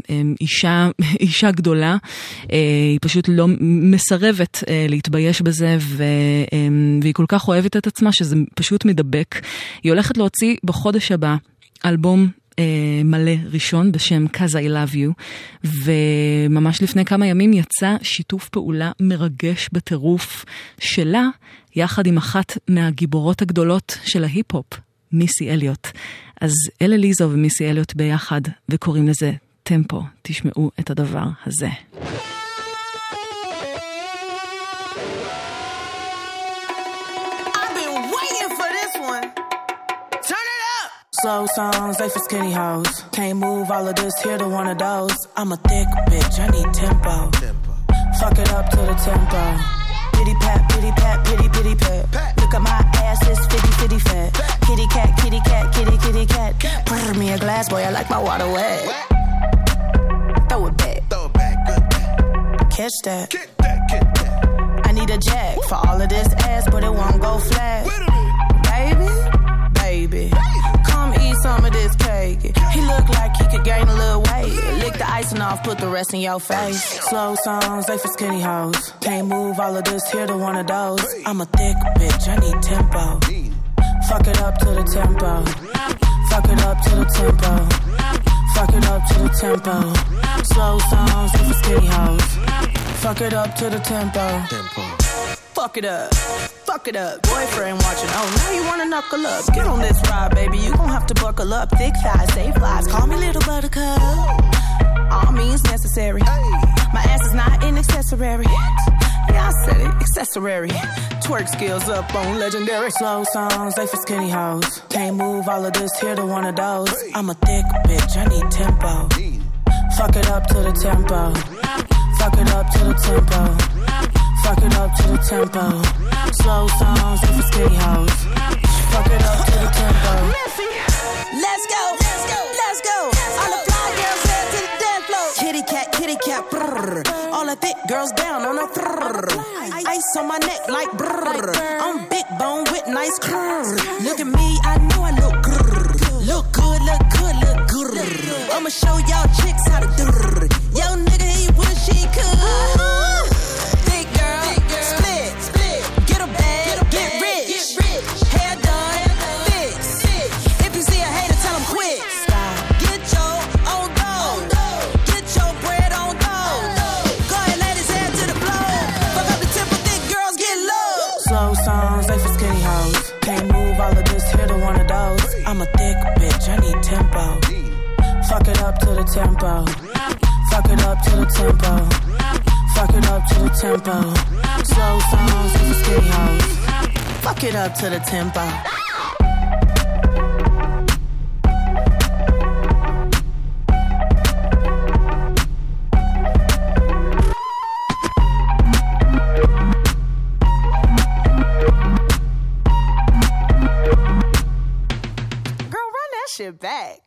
אישה גדולה. היא פשוט לא מסרבת להתבייש בזה, והיא כל כך אוהבת את עצמה שזה פשוט מדבק. היא הולכת להוציא בחודש הבא אלבום מלא ראשון בשם Cause I Love You, וממש לפני כמה ימים יצא שיתוף פעולה מרגש בטירוף שלה יחד עם אחת מהגיבורות הגדולות של ההיפ-הופ, מיסי אליוט. אז אלה ליזו ומיסי אליוט ביחד, וקוראים לזה טמפו. תשמעו את הדבר הזה. Slow songs, they for skinny hoes. Can't move all of this here to one of those. I'm a thick bitch, I need tempo. Fuck it up to the tempo. Pity pat, pity pat, pity pity pat. Look at my ass, it's fitty fitty fat. Kitty cat, kitty cat, kitty kitty cat. Pour me a glass, boy, I like my water wet. Throw it back, good back. Catch that, get that, get that. I need a jack for all of this ass, but it won't go flat. Baby, baby. Come eat some of this cake. He look like he could gain a little weight. Lick the icing off, put the rest in your face. Slow songs, they for skinny hoes. Can't move all of this here to one of those. I'm a thick bitch, I need tempo. Fuck it up to the tempo. Fuck it up to the tempo. Fuck it up to the tempo. Slow songs, they for skinny hoes. Fuck it up to the tempo. Fuck it up, fuck it up. Boyfriend watching, oh now you wanna knuckle up. Get on this ride, baby, you gon' have to buckle up. Thick thighs, save lives, call me little buttercup. All means necessary. My ass is not an accessory. Yeah, I said it, accessory. Twerk skills up on legendary. Slow songs, they for skinny hoes. Can't move all of this here to one of those. I'm a thick bitch, I need tempo. Fuck it up to the tempo. Fuck it up to the tempo. Fuck it up to the tempo. Slow songs for skinny hoes. Fuck it up to the tempo. Let's go, let's go, let's go. All the fly girls head to the dance floor. Kitty cat, brrr. All the thick girls down on the brrr. Ice on my neck like brrr. I'm big bone with nice curves. Look at me, I know I look grrr. Look good, look good, look good. I'ma show y'all chicks how to do. Yo nigga, he wish he could. Slow songs, they for skinny hoes. Can't move all of this up to the tempo. Fuck it up to the tempo. Fuck it up to the tempo. Slow songs for skinny hoes. Fuck it up to the tempo. Girl, run that shit back.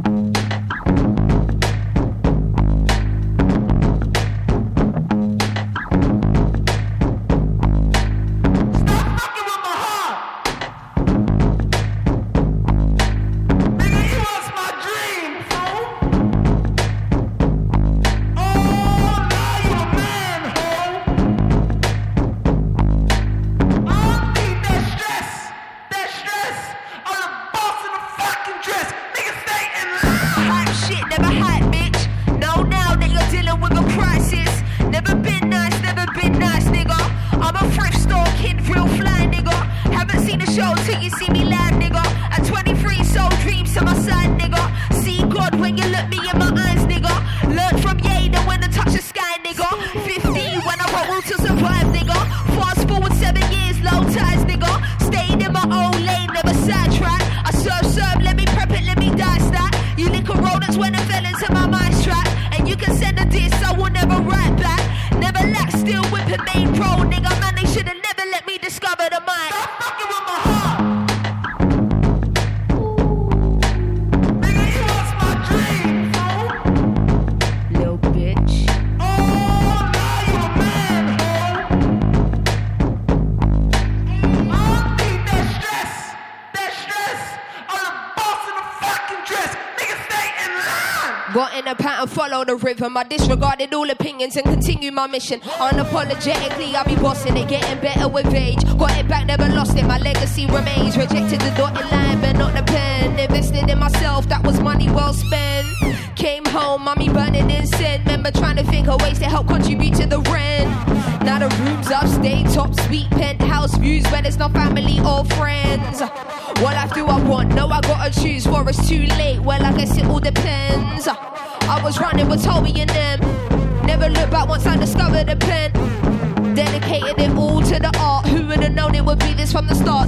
Follow the rhythm. I disregarded all opinions and continue my mission. Unapologetically, I'll be bossing it, getting better with age. Got it back, never lost it. My legacy remains. Rejected the dotted line, but not the pen. Invested in myself, that was money well spent. Came home, mommy burning incense. Remember trying to think of ways to help contribute to the rent. Now the rooms upstate, top suite, penthouse views, where there's no family or friends. What life do I want? No, I gotta choose. For it's too late. Well, I guess it all depends. I was running with Toby and them. Never looked back once I discovered a pen. Dedicated it all to the art. Who would have known it would be this from the start?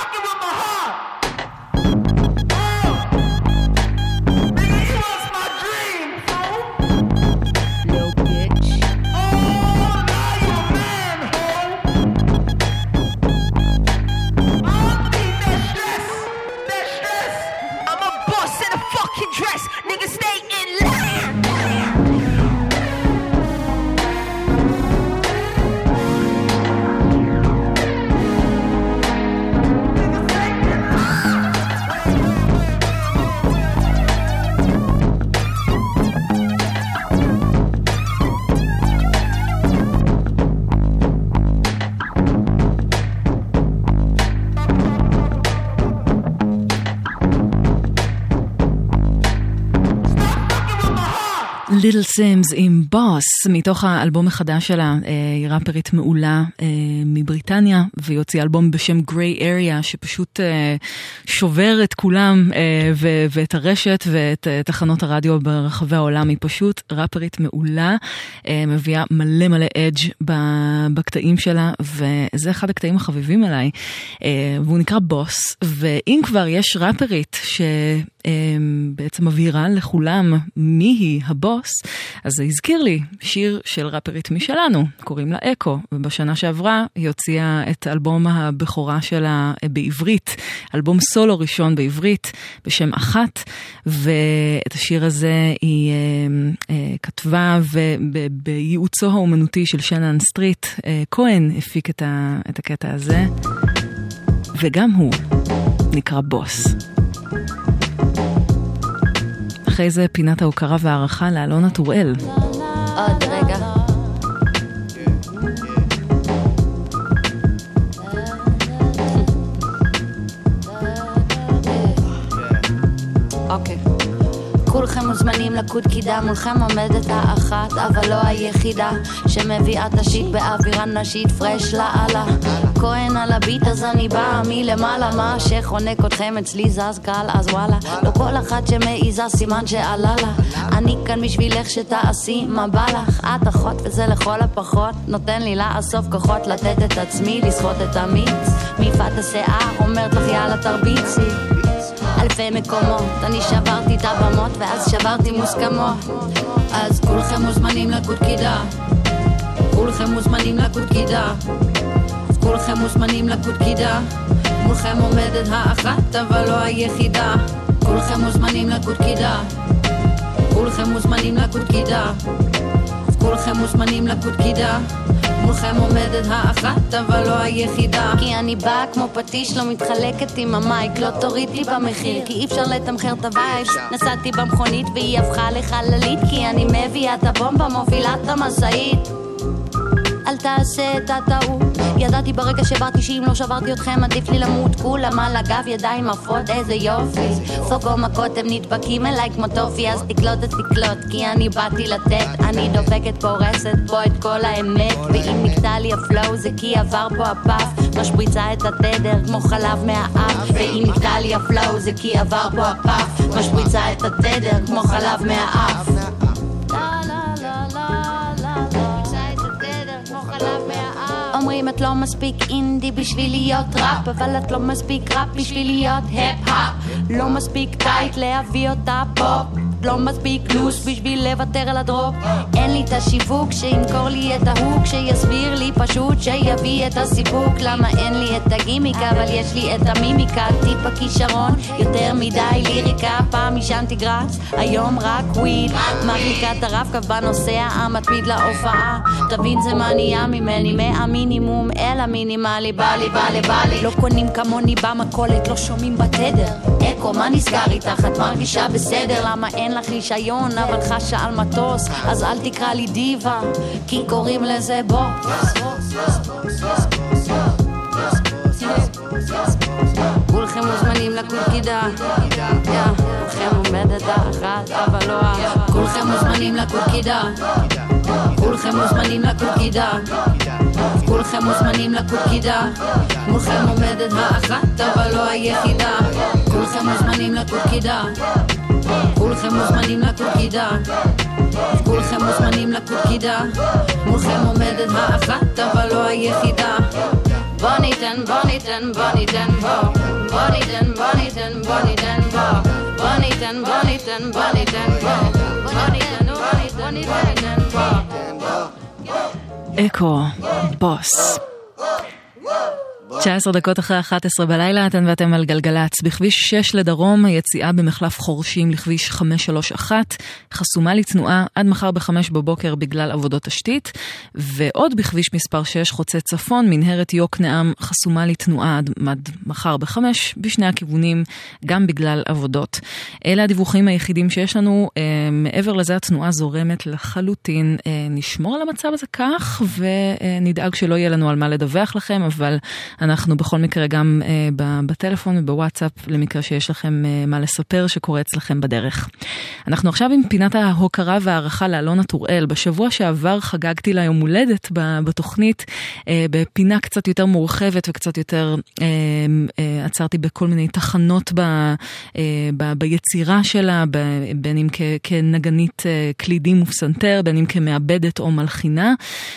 ליטל סימס עם בוס, מתוך האלבום החדש שלה, היא ראפרית מעולה מבריטניה, והיא הוציאה אלבום בשם Grey Area, שפשוט שובר את כולם ואת הרשת ואת תחנות הרדיו ברחבי העולם. היא פשוט ראפרית מעולה, מביאה מלא מלא אדג' בקטעים שלה, וזה אחד הקטעים החביבים עליי, והוא נקרא בוס. ואם כבר יש ראפרית שבעצם מבהירה לכולם מי היא הבוס, אז זה הזכיר לי שיר של ראפרית משלנו, קוראים לה אקו, ובשנה שעברה היא הוציאה את אלבום הבכורה שלה בעברית, אלבום סולו ראשון בעברית בשם אחת, ואת השיר הזה היא כתבה, ובייעוצו האומנותי של שנן סטריט, כהן הפיק את הקטע הזה, וגם הוא נקרא בוס. אחרי זה פינת ההוקרה והערכה לאלונה טוראל. עוד רגע. אוקיי. כולכם מוזמנים לקוד קידה, מולכם עומדת האחת, אבל לא היחידה, שמביאה את השיט באווירה נשית פרש לעלה. כהן על הביט, אז אני באה מלמעלה, מה שחונק אתכם אצלי זז קל, אז וואלה, לא כל אחת שמעיזה סימן שעלה לה, אני כאן בשבילך שתעשי מה בא לך, את אחות וזה לכל הפחות נותן לי לאסוף כוחות לתת את עצמי, לסחוט את המיץ מיפת השיער, אומרת לך יאללה תרביצי אלפי מקומות, אני שברתי את הבמות ואז שברתי מוסכמות, אז כולכם מוזמנים לקוד קידה, כולכם מוזמנים לקוד קידה, כולכם מוזמנים לקוד קידה, מולכם עומדת האחת אבל לא היחידה, כולכם מוזמנים לקוד קידה, כולכם מוזמנים לקוד קידה, כולכם מוזמנים לקוד קידה, מולכם עומדת האחת אבל לא היחידה, כי אני באה כמו פטיש, לא מתחלקת עם המייק, לא תוריד לי במחיר כי אי אפשר לתמחר את הווייב, נסעתי במכונית והיא הפכה לחללית, כי אני מביאה את הבומבה, מובילה את המסעית, אל תעשה את הטעות, ידעתי ברגע שבאתי שאם לא שברתי אתכם עדיף לי למות, כולם על הגב ידיים עפות איזה יופי, פוגו מכות הם נדבקים אליי כמו טופי, אז תקלוט את תקלוט כי אני באתי לתת, אני דופקת פורסת פה את כל האמת, ואם נקטע לי הפלואו זה כי עבר פה הפף, משפריצה את התדר כמו חלב מהאף, ואם נקטע לי הפלואו זה כי עבר פה הפף, משפריצה את התדר כמו חלב מהאף, אומרים את לא מספיק אינדי בשביל להיות ראפ, אבל את לא מספיק ראפ בשביל להיות היפ-האפ, לא מספיק טייט להביא אותה פופ, לא מספיק לוס בשביל לוותר על הדרופ, אין לי את השיווק שימכור לי את ההוק, שיסביר לי פשוט שיביא את הסיפוק, למה אין לי את הגימיק אבל יש לי את המימיקה, טיפ הכישרון יותר מדי ליריקה, פעם ישנתי גרס היום רק וויד, מרליקה את הרב קו בנוסע המתמיד להופעה, תבין זה מה נהיה ממני מהמינימום אל המינימלי, בא לי לא קונים כמוני במקולת, לא שומעים בתדר, אקו מה נסגר איתך, את מרגישה בסדר, למה אין לך רישיון אבל חשה על מטוס, אז אל תקרא לי דיבה כי קוראים לזה בוס, כולכם מוזמנים לקוד קידה, כולכם עומדת האחת אבל לא כולכם מוזמנים לקוד קידה, כולכם מוזמנים לקוד קידה, כולכם מוזמנים לקוד קידה, מולכם עומדת האחת אבל לא היחידה, כולכם מוזמנים לקוד קידה, כולכם מוזמנים לקוד קידה, כולכם מוזמנים לקוד קידה, מולכם עומדת האחת אבל לא היחידה, בוא ניתן בוא ניתן בוא ניתן בוא ניתן בוא ניתן בוא ניתן בוא ניתן בוא ניתן בוא ניתן בוא ניתן אקו בוס 19 דקות אחרי 11 בלילה, אתן ואתם על גלגלץ. בכביש 6 לדרום, היציאה במחלף חורשים לכביש 531, חסומה לתנועה עד מחר ב5 בבוקר בגלל עבודות תשתית, ועוד בכביש מספר 6 חוצה צפון, מנהרת יוקנעם, חסומה לתנועה עד מחר ב5 בשני הכיוונים, גם בגלל עבודות. אלה הדיווחים היחידים שיש לנו, מעבר לזה התנועה זורמת לחלוטין. נשמור על המצב הזה כך, ונדאג שלא יהיה לנו על מה לדווח לכם, אבל אנחנו בכל מקרה גם בטלפון ובוואטסאפ, למקרה שיש לכם מה לספר שקורה אצלכם בדרך. אנחנו עכשיו עם פינת ההוקרה והערכה לאלונה טוראל. בשבוע שעבר חגגתי לה יום הולדת בתוכנית, בפינה קצת יותר מורחבת וקצת יותר עצרתי בכל מיני תחנות ביצירה שלה, בין אם כנגנית קלידים ופסנתר, בין אם כמעבדת או מלחינה,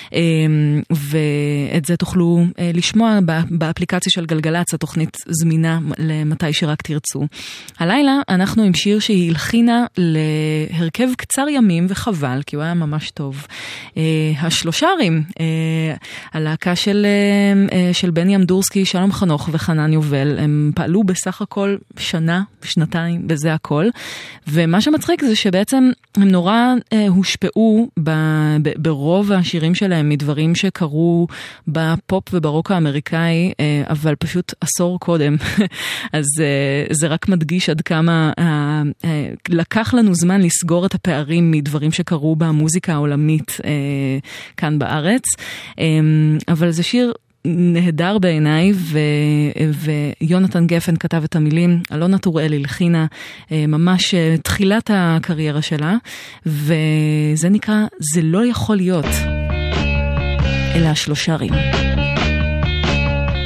ואת זה תוכלו לשמוע באפליקציה של גלגלץ, התוכנית זמינה למתי שרק תרצו. הלילה אנחנו עם שיר שהיא הלחינה להרכב קצר ימים, וחבל, כי הוא היה ממש טוב. השלושרים, הלהקה של בני אמדורסקי, שלום חנוך וחנן יובל, הם פעלו בסך הכל שנה, שנתיים, בזה הכל, ומה שמצחיק זה שבעצם הם נורא הושפעו ברוב השירים שלהם מדברים שקרו בפופ וברוק האמריקאי, אבל פשוט עשור קודם. אז זה רק מדגיש עד כמה לקח לנו זמן לסגור את הפערים מדברים שקרו במוזיקה העולמית כאן בארץ. אבל זה שיר נהדר בעיניי, ויונתן גפן כתב את המילים, אלונה טוראל הלחינה ממש תחילת הקריירה שלה, וזה נקרא זה לא יכול להיות. אלה השלושרים.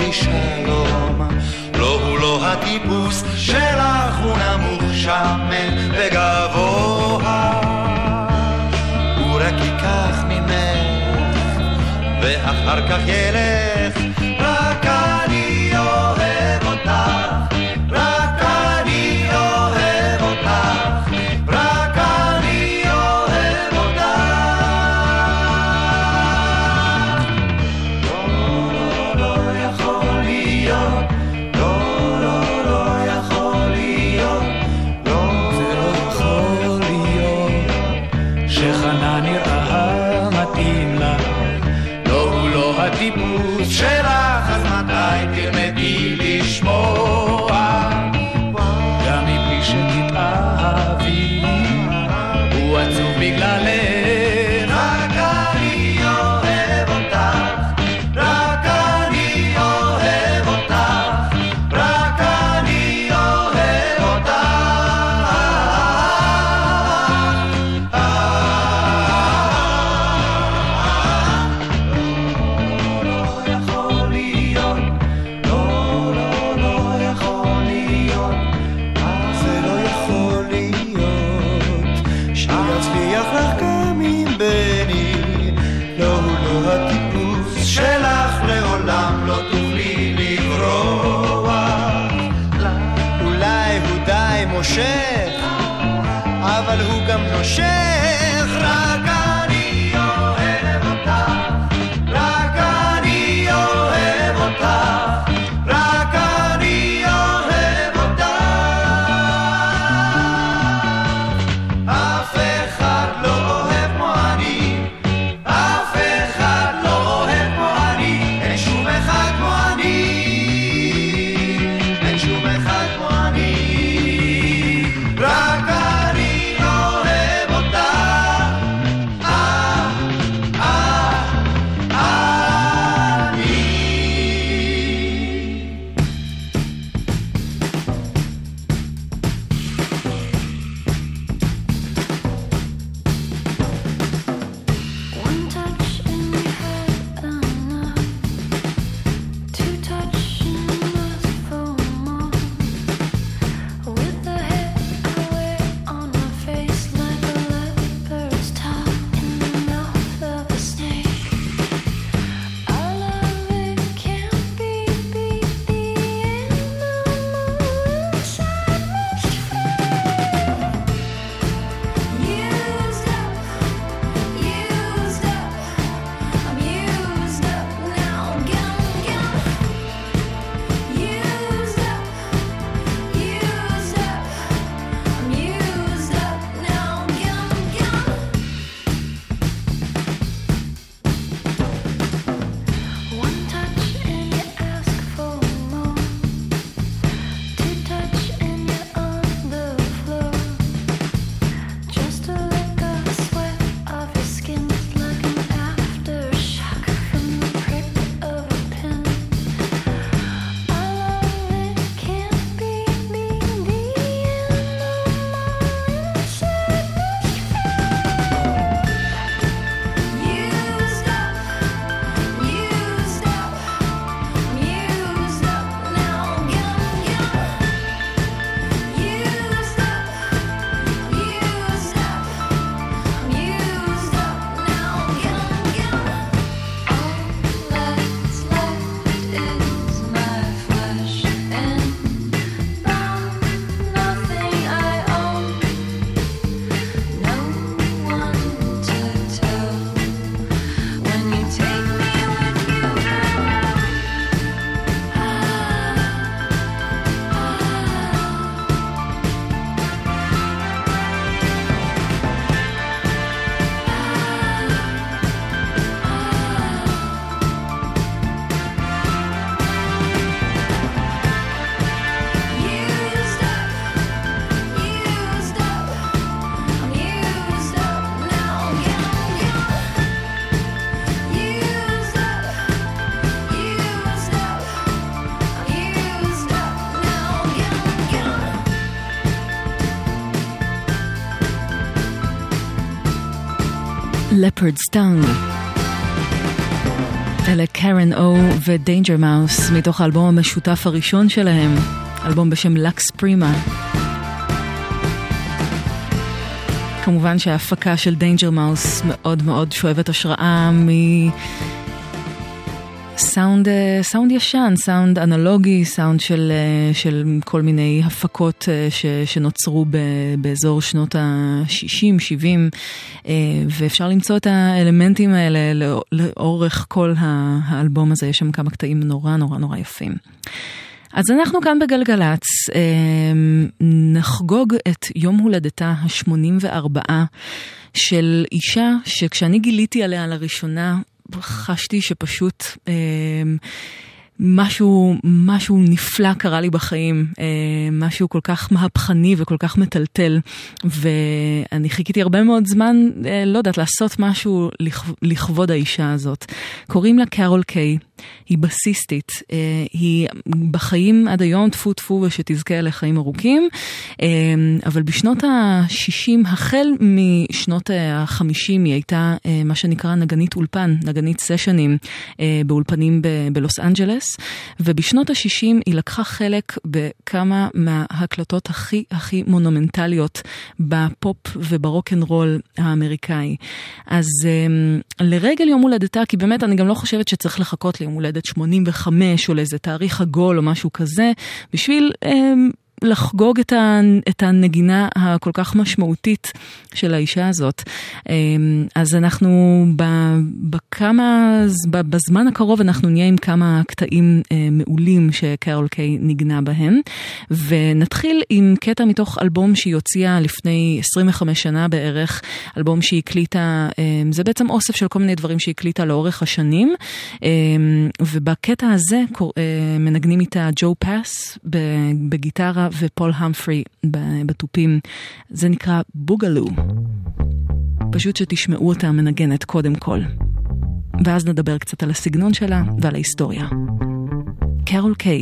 לי שלום. לא הוא לא הטיפוס שלך, הוא נמוך שמן וגבוה. הוא רק ייקח ממך ואחר כך ילך. רק אני אוהב אותך, רק אני אוהב אותך, רק אני אוהב אותך. לא, לא, לא יכול להיות, לא, לא, לא יכול להיות, לא, זה לא יכול להיות שחנה נראה מתאים לה. לא, הוא לא הטיפוס שלך, אז מתי תלמדי לשמוע? גם מבלי שתתאהבי, הוא עצוב בגללך. רק אני אוהב אותך, רק אני אוהב אותך, רק אני אוהב אותך. לא יכול להיות, לא, לא, לא יכול להיות, זה לא יכול להיות שיצליח לך גם עם בני. לא, הוא לא הטיפוס שלך, לעולם לא תוכלי לברוח. אולי הוא די מושך, אבל הוא גם נושך. רק אני אוהב אותך, רק אני אוהב אותך, רק אני אוהב אותך. אף אחד לא אוהב כמו אני, אף אחד לא אוהב כמו אני. אין שום אחד כמו אני, אין שום אחד כמו אני. רק אני אוהב אותך. One touch and we had enough. Two touch and ask for more. With the head I wear on my face like a leopard's tongue in the mouth of a snake. Our love, it can't be beat. The animal inside must fail. Used up, used up. I'm used up now. Gum, gum. Used up, used up. I'm used up now. Gum, gum. One touch and you ask for more. Two touch and you're on the floor. Just a lick of sweat off your skin is like an aftershock from the prick of a pin. Our love, it can't be beat. The animal inside must fail. Used up, used up. I'm used up now. Gum, gum. Used up, used up. I'm used up now. Gum, gum. All that's left is my flesh and bone. Nothing I own. No one to tell. When you take me with you, used up, used up. I'm used up now. Gum, gum. Used up, used up. I'm used up now. Gum, gum. Leopard's Tongue. אלה קרן או ודיינג'ר מאוס מתוך האלבום המשותף הראשון שלהם, אלבום בשם לקס פרימה. כמובן שההפקה של דיינג'ר מאוס מאוד מאוד שואבת השראה סאונד ישן, סאונד אנלוגי, סאונד של כל מיני הפקות שנוצרו באזור שנות ה-60, 70, ואפשר למצוא את האלמנטים האלה לאורך כל האלבום הזה. יש שם כמה קטעים נורא נורא נורא יפים. אז אנחנו כאן בגלגלץ נחגוג את יום הולדתה ה-84 של אישה שכשאני גיליתי עליה לראשונה חשתי שפשוט משהו נפלא קרה לי בחיים, משהו כל כך מהפכני וכל כך מטלטל, ואני חיכיתי הרבה מאוד זמן, לא יודעת, לעשות משהו לכבוד האישה הזאת. קוראים לה קרול קיי, היא בסיסטית, היא בחיים עד היום טפו טפו ושתזכה לחיים ארוכים, אבל בשנות ה-60, החל משנות ה-50, היא הייתה מה שנקרא נגנית אולפן, נגנית סשנים באולפנים בלוס אנג'לס, ובשנות ה-60 היא לקחה חלק בכמה מההקלטות הכי מונומנטליות בפופ וברוק'נ'רול האמריקאי. אז לרגל יום הולדתה, כי באמת אני גם לא חושבת שצריך לחכות ליום הולדת 85 או לאיזה תאריך עגול או משהו כזה, בשביל לחגוג את הנגינה הכל כך משמעותית של האישה הזאת. אז אנחנו בזמן הקרוב אנחנו נהיה עם כמה קטעים מעולים שקרול קיי נגנה בהם, ונתחיל עם קטע מתוך אלבום שהיא הוציאה לפני 25 שנה בערך, אלבום שהיא הקליטה, זה בעצם אוסף של כל מיני דברים שהיא הקליטה לאורך השנים, ובקטע הזה מנגנים איתה ג'ו פאס בגיטרה ופול המפרי בטופים. זה נקרא בוגלו. פשוט שתשמעו אותה מנגנת קודם כל. ואז נדבר קצת על הסגנון שלה ועל ההיסטוריה. קרול קיי.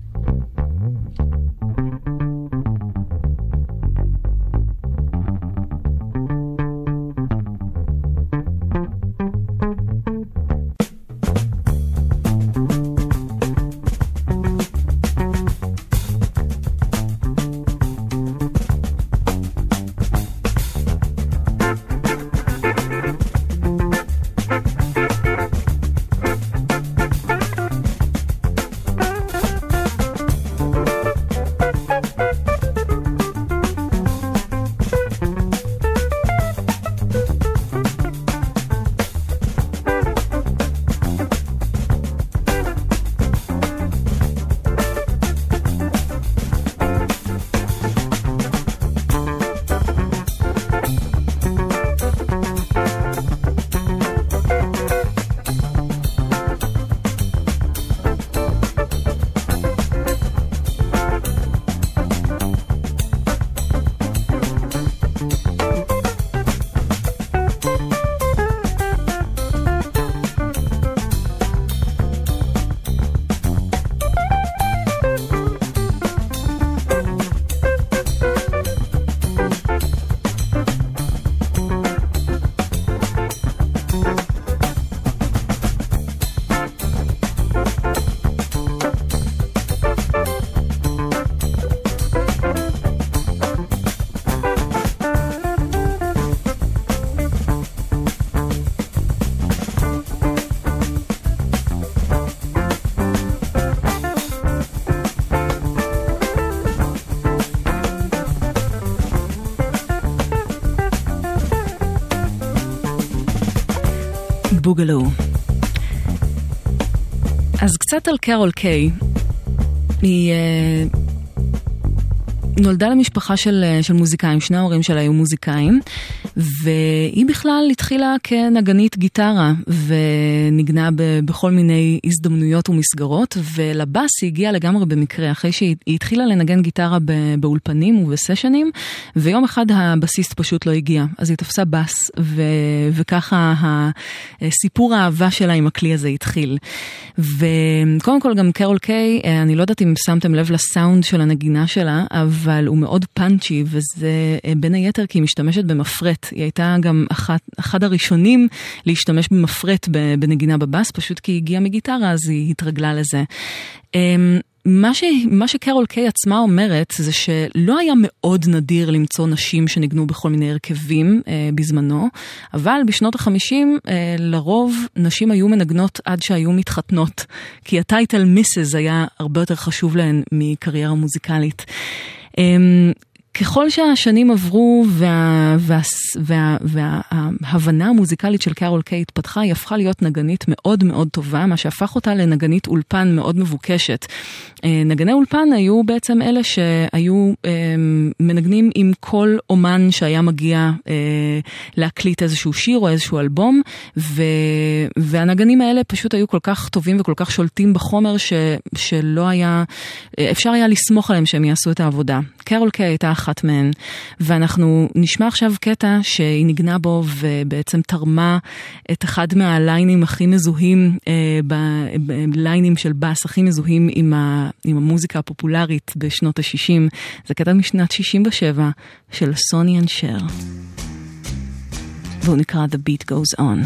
בוגלו. אז קצת על קרול קיי. היא נולדה למשפחה של מוזיקאים, שני ההורים שלה היו מוזיקאים, והיא בכלל התחילה כנגנית גיטרה, ונגנה בכל מיני הזדמנויות ומסגרות, ולבאס היא הגיעה לגמרי במקרה, אחרי שהיא התחילה לנגן גיטרה באולפנים ובסשנים, ויום אחד הבסיסט פשוט לא הגיע, אז היא תפסה באס, וככה הסיפור האהבה שלה עם הכלי הזה התחיל. וקודם כל גם קרול קיי, אני לא יודעת אם שמתם לב לסאונד של הנגינה שלה, אבל אבל הוא מאוד פאנצ'י, וזה בין היתר כי היא משתמשת במפרט. היא הייתה גם אחד הראשונים להשתמש במפרט בנגינה בבאס, פשוט כי היא הגיעה מגיטרה, אז היא התרגלה לזה. מה שקרול קיי עצמה אומרת זה שלא היה מאוד נדיר למצוא נשים שניגנו בכל מיני הרכבים בזמנו, אבל בשנות ה-50 לרוב נשים היו מנגנות עד שהיו מתחתנות, כי הטייטל מיסס היה הרבה יותר חשוב להן מקריירה מוזיקלית. ככל שהשנים עברו וההבנה המוזיקלית של קרול קיי התפתחה, היא הפכה להיות נגנית מאוד מאוד טובה, מה שהפך אותה לנגנית אולפן מאוד מבוקשת. נגני אולפן היו בעצם אלה שהיו מנגנים עם כל אומן שהיה מגיע להקליט איזשהו שיר או איזשהו אלבום, והנגנים האלה פשוט היו כל כך טובים וכל כך שולטים בחומר שלא היה, אפשר היה לסמוך עליהם שהם יעשו את העבודה. קרול קיי הייתה אחת מהן, ואנחנו נשמע עכשיו קטע שהיא נגנה בו ובעצם תרמה את אחד מהליינים הכי מזוהים, בליינים של בס הכי מזוהים עם המוזיקה הפופולרית בשנות ה-60. זה קטע משנת 67 של סוני אנד שר. והוא נקרא The Beat Goes On.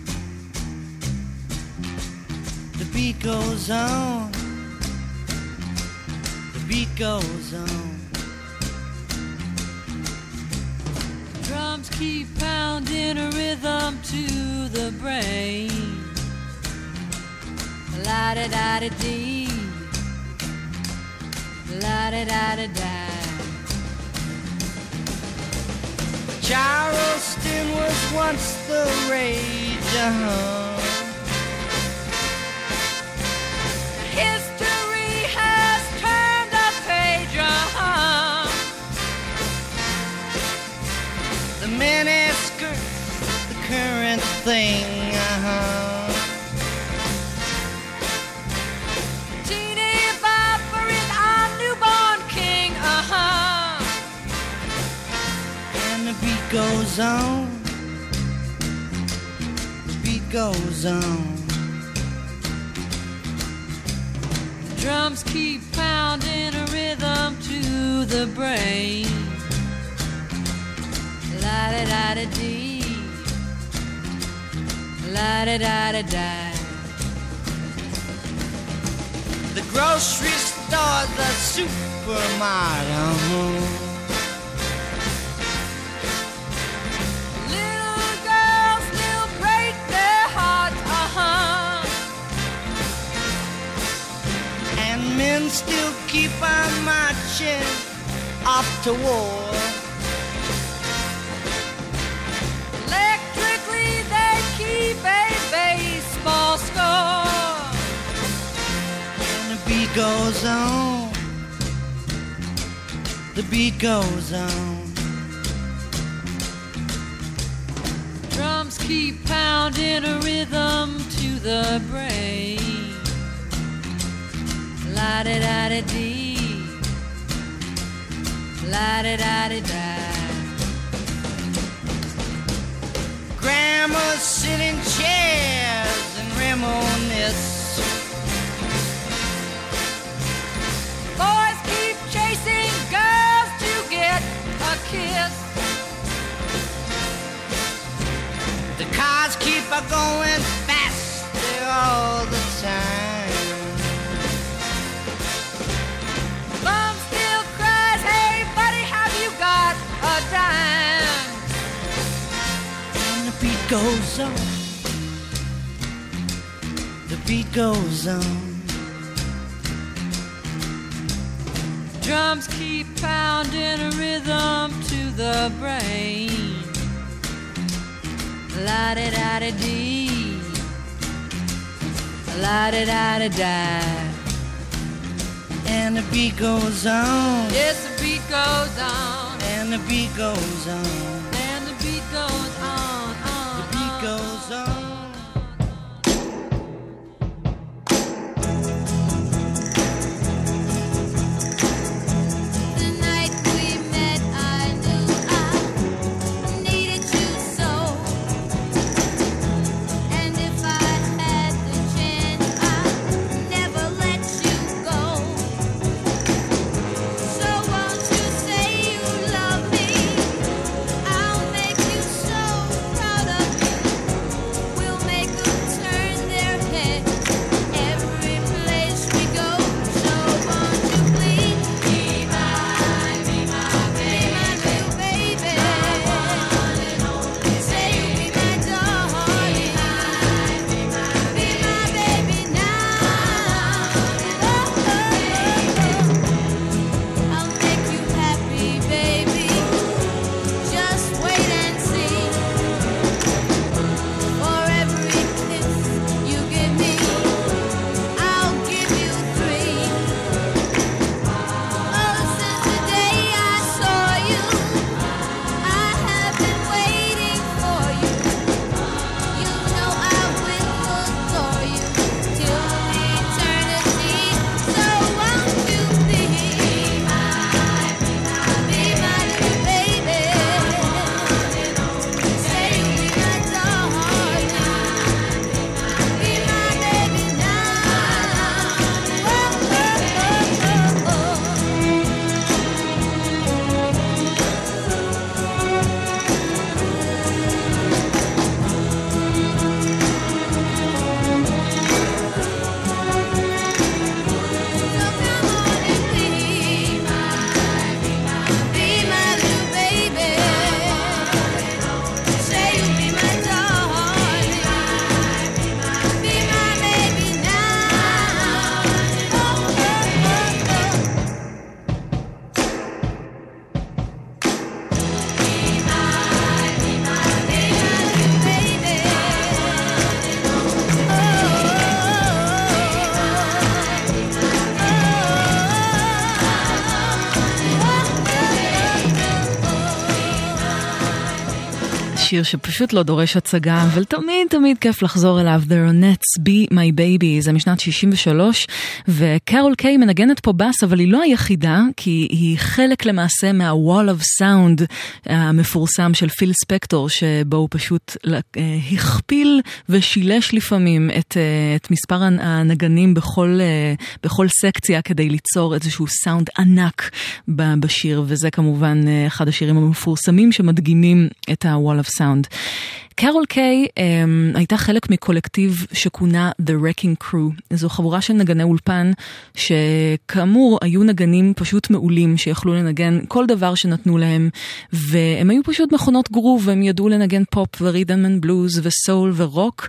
The beat goes on. The beat goes on. Drums keep pounding a rhythm to the brain. La-da-da-da-dee, la-da-da-da-da. Charleston was once the rage, History has turned a page, The miniskirts, the current thing, Teeny Bopper is our newborn king, And the beat goes on. The beat goes on. The drums keep pounding a rhythm to the brain. La-da-da-da-dee, la-da-da-da-da. The grocery store, the supermarket, Little girls still break their hearts, And men still keep on marching off to war. Keep a baseball score. And the beat goes on. The beat goes on. Drums keep pounding a rhythm to the brain. La-da-da-da-dee, la-da-da-da-da. Grandmas sit in chairs and reminisce. Boys keep chasing girls to get a kiss. The cars keep going faster all the time. Mom still cries, hey buddy, have you got a dime? The beat goes on. The beat goes on. Drums keep pounding a rhythm to the brain. La-da-da-da-dee, la-da-da-da-da. And the beat goes on. Yes, the beat goes on. And the beat goes on. And the beat goes on. Goes on. The night we met, I knew I needed you so. And if I had the chance, I'd never let you go. So won't you שיר שפשוט לא דורש הצגה, אבל תמיד תמיד כיף לחזור אליו. The Ronettes, Be My Baby, זה משנת 63, וקרול קיי מנגנת פה בס, אבל היא לא היחידה, כי היא חלק למעשה מה-Wall of Sound המפורסם של פיל ספקטור, שבו הוא פשוט הכפיל ושילש לפעמים את מספר הנגנים בכל סקציה, כדי ליצור איזשהו סאונד ענק בשיר, וזה כמובן אחד השירים המפורסמים שמדגימים את ה-Wall of Sound. קרול קיי הייתה חלק מקולקטיב שכונה The Wrecking Crew. זו חבורה של נגני אולפן שכאמור היו נגנים פשוט מעולים שיכלו לנגן כל דבר שנתנו להם, והם היו פשוט מכונות גרוב, והם ידעו לנגן פופ ורית'ם אנד בלוז וסול ורוק,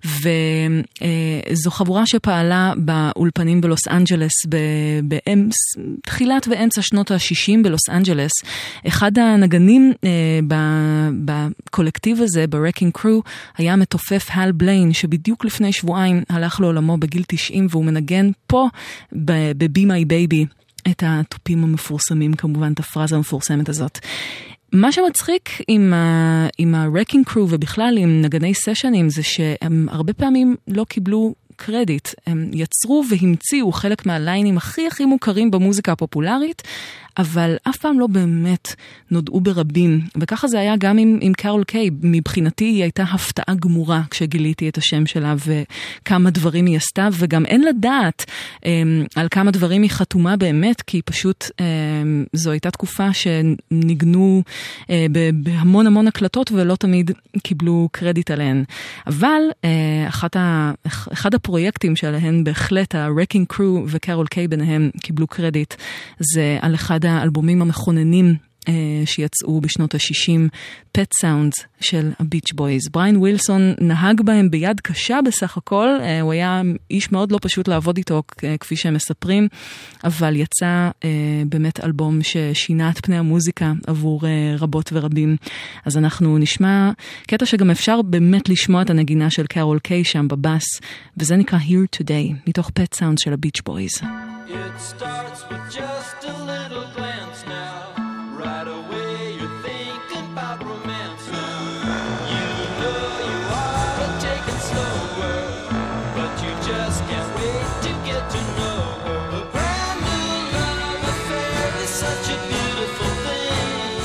וזו חבורה שפעלה באולפנים בלוס אנג'לס בתחילת ואמצע שנות ה-60 בלוס אנג'לס. אחד הנגנים בקולקטיב הזה, Wrecking Crew, היה מתופף הל בליין, שבדיוק לפני שבועיים הלך לעולמו בגיל 90, והוא מנגן פה ב-Be My Baby את התופים המפורסמים, כמובן את הפרזה המפורסמת הזאת. מה שמצחיק עם ה-Wrecking Crew ובכלל עם נגני סשנים, זה שהם הרבה פעמים לא קיבלו קרדיט. הם יצרו והמציאו חלק מהליינים הכי הכי מוכרים במוזיקה הפופולרית, אבל אף פעם לא באמת נודעו ברבים. וככה זה היה גם עם קרול קיי. מבחינתי היא הייתה הפתעה גמורה כשגיליתי את השם שלה וכמה דברים היא עשתה, וגם אין לדעת על כמה דברים היא חתומה באמת, כי פשוט זו הייתה תקופה שניגנו בהמון המון הקלטות ולא תמיד קיבלו קרדיט עליהן. אבל אחד הפרויקטים שעליהן בהחלט ה-Wrecking Crew וקרול קיי ביניהם קיבלו קרדיט, זה על אחד האלבומים המכוננים שיצאו בשנות ה-60, Pet Sounds של הביץ' בויז. בריין ווילסון נהג בהם ביד קשה בסך הכל, הוא היה איש מאוד לא פשוט לעבוד איתו כפי שהם מספרים, אבל יצא באמת אלבום ששינה את פני המוזיקה עבור רבות ורבים. אז אנחנו נשמע קטע שגם אפשר באמת לשמוע את הנגינה של קרול קיי שם בבאס, וזה נקרא Here Today, מתוך Pet Sounds של הביץ' בויז. It starts with just a little glance now. Right away you're thinking about romance now. You know you ought to take it slower, but you just can't wait to get to know her. A brand new love affair is such a beautiful thing.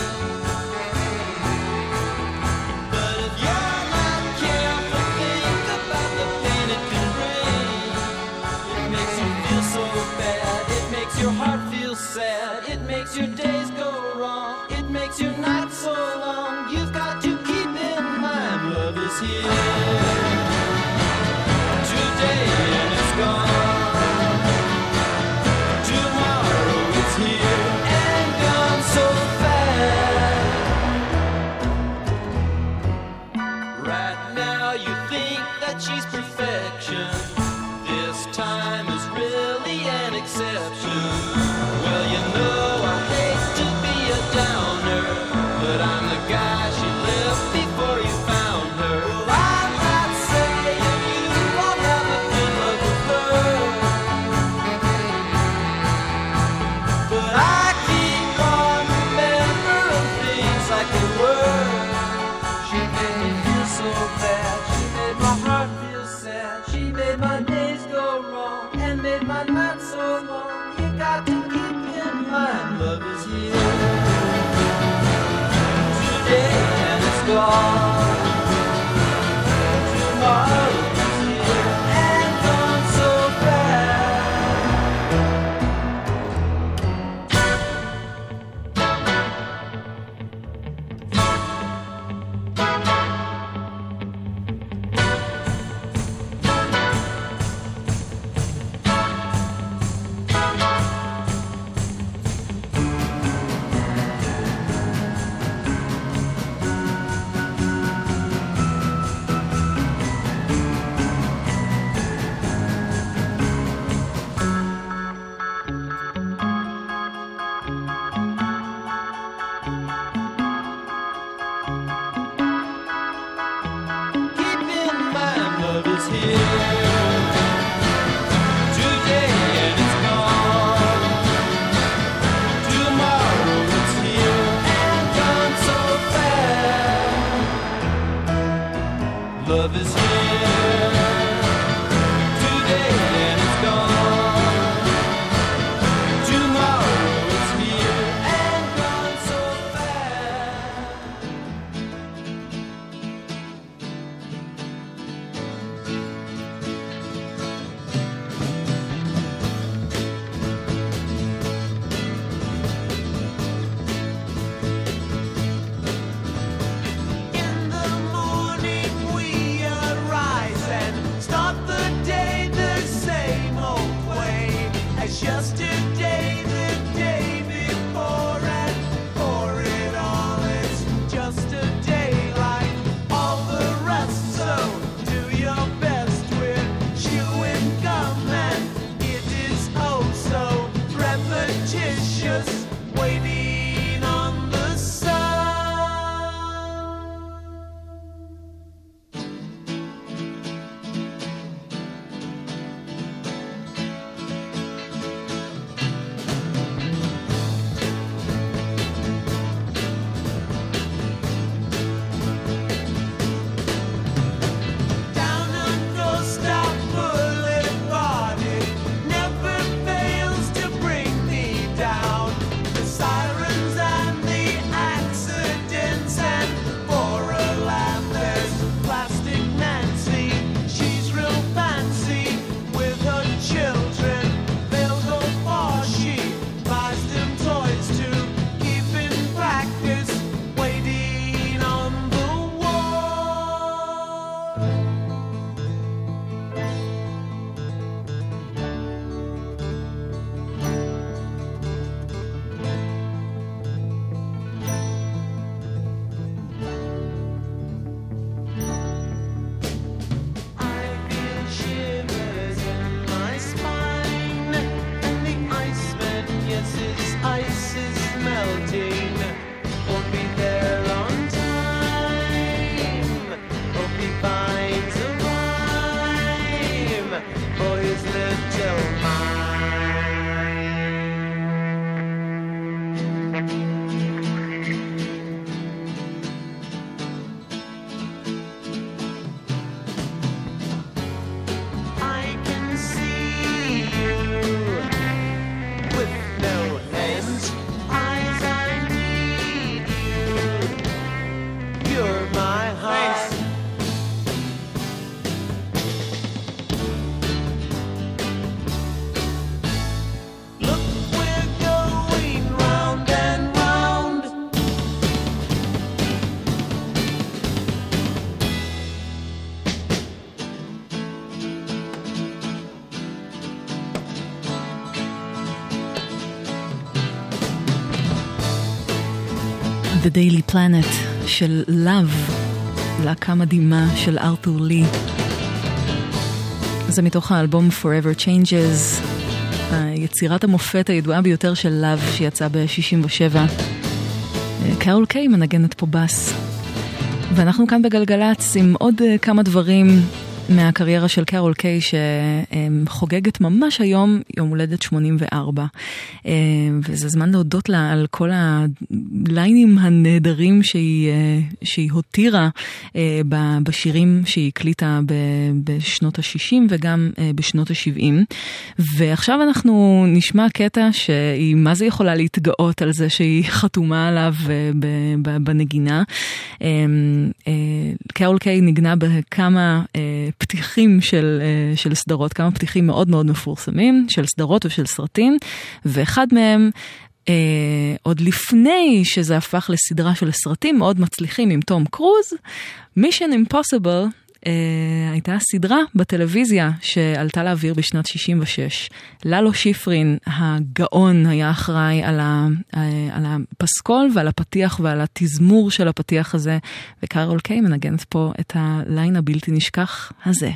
But if you're not careful, think about the pain it can bring. It makes you feel so bad, it makes your heart feel sad, it makes your days go wrong, it makes your nights so long. You've got to keep in mind love is here today and it's gone. Tomorrow it's here and gone so fast. Right now you think that she's perfection, this time is really an exception. Well, you know I hate to be a downer, but I'm the guy she left before you found her. Well, I'm not saying you won't ever feel love with her, but I keep on remembering things like they were. She made me feel so bad, she made my heart feel sad, she made my days go wrong and made my nights so long. You got to keep in mind love is here today and it's gone. Tomorrow is here and gone so fast. The Daily Planet של Love, להקה מדהימה של ארתור לי. זה מתוך האלבום Forever Changes, יצירת המופת הידועה ביותר של Love שיצא ב-67. קרול קיי מנגנת פה בס. ואנחנו כאן בגלגלץ עם עוד כמה דברים מהקריירה של קרול קיי שחוגגת ממש היום יום הולדת 84. וזה זמן להודות לה על כל הליינים הנהדרים שהיא הותירה בשירים שהיא הקליטה בשנות ה-60 וגם בשנות ה-70. ועכשיו אנחנו נשמע קטע שהיא מה זה יכולה להתגאות על זה שהיא חתומה עליו בנגינה. קרול קיי נגנה בכמה פתיחים של סדרות, כמה פתיחים מאוד מאוד מפורסמים, של סדרות ושל סרטים, ואחד מהם, עוד לפני שזה הפך לסדרה של סרטים מאוד מצליחים עם תום קרוז, Mission Impossible, הייתה סדרה בטלוויזיה שעלתה לאוויר בשנת 66. ללו שיפרין, הגאון, היה אחראי על הפסקול ועל הפתיח ועל התזמור של הפתיח הזה, וקרול קיי מנגנת פה את הליין הבלתי נשכח הזה.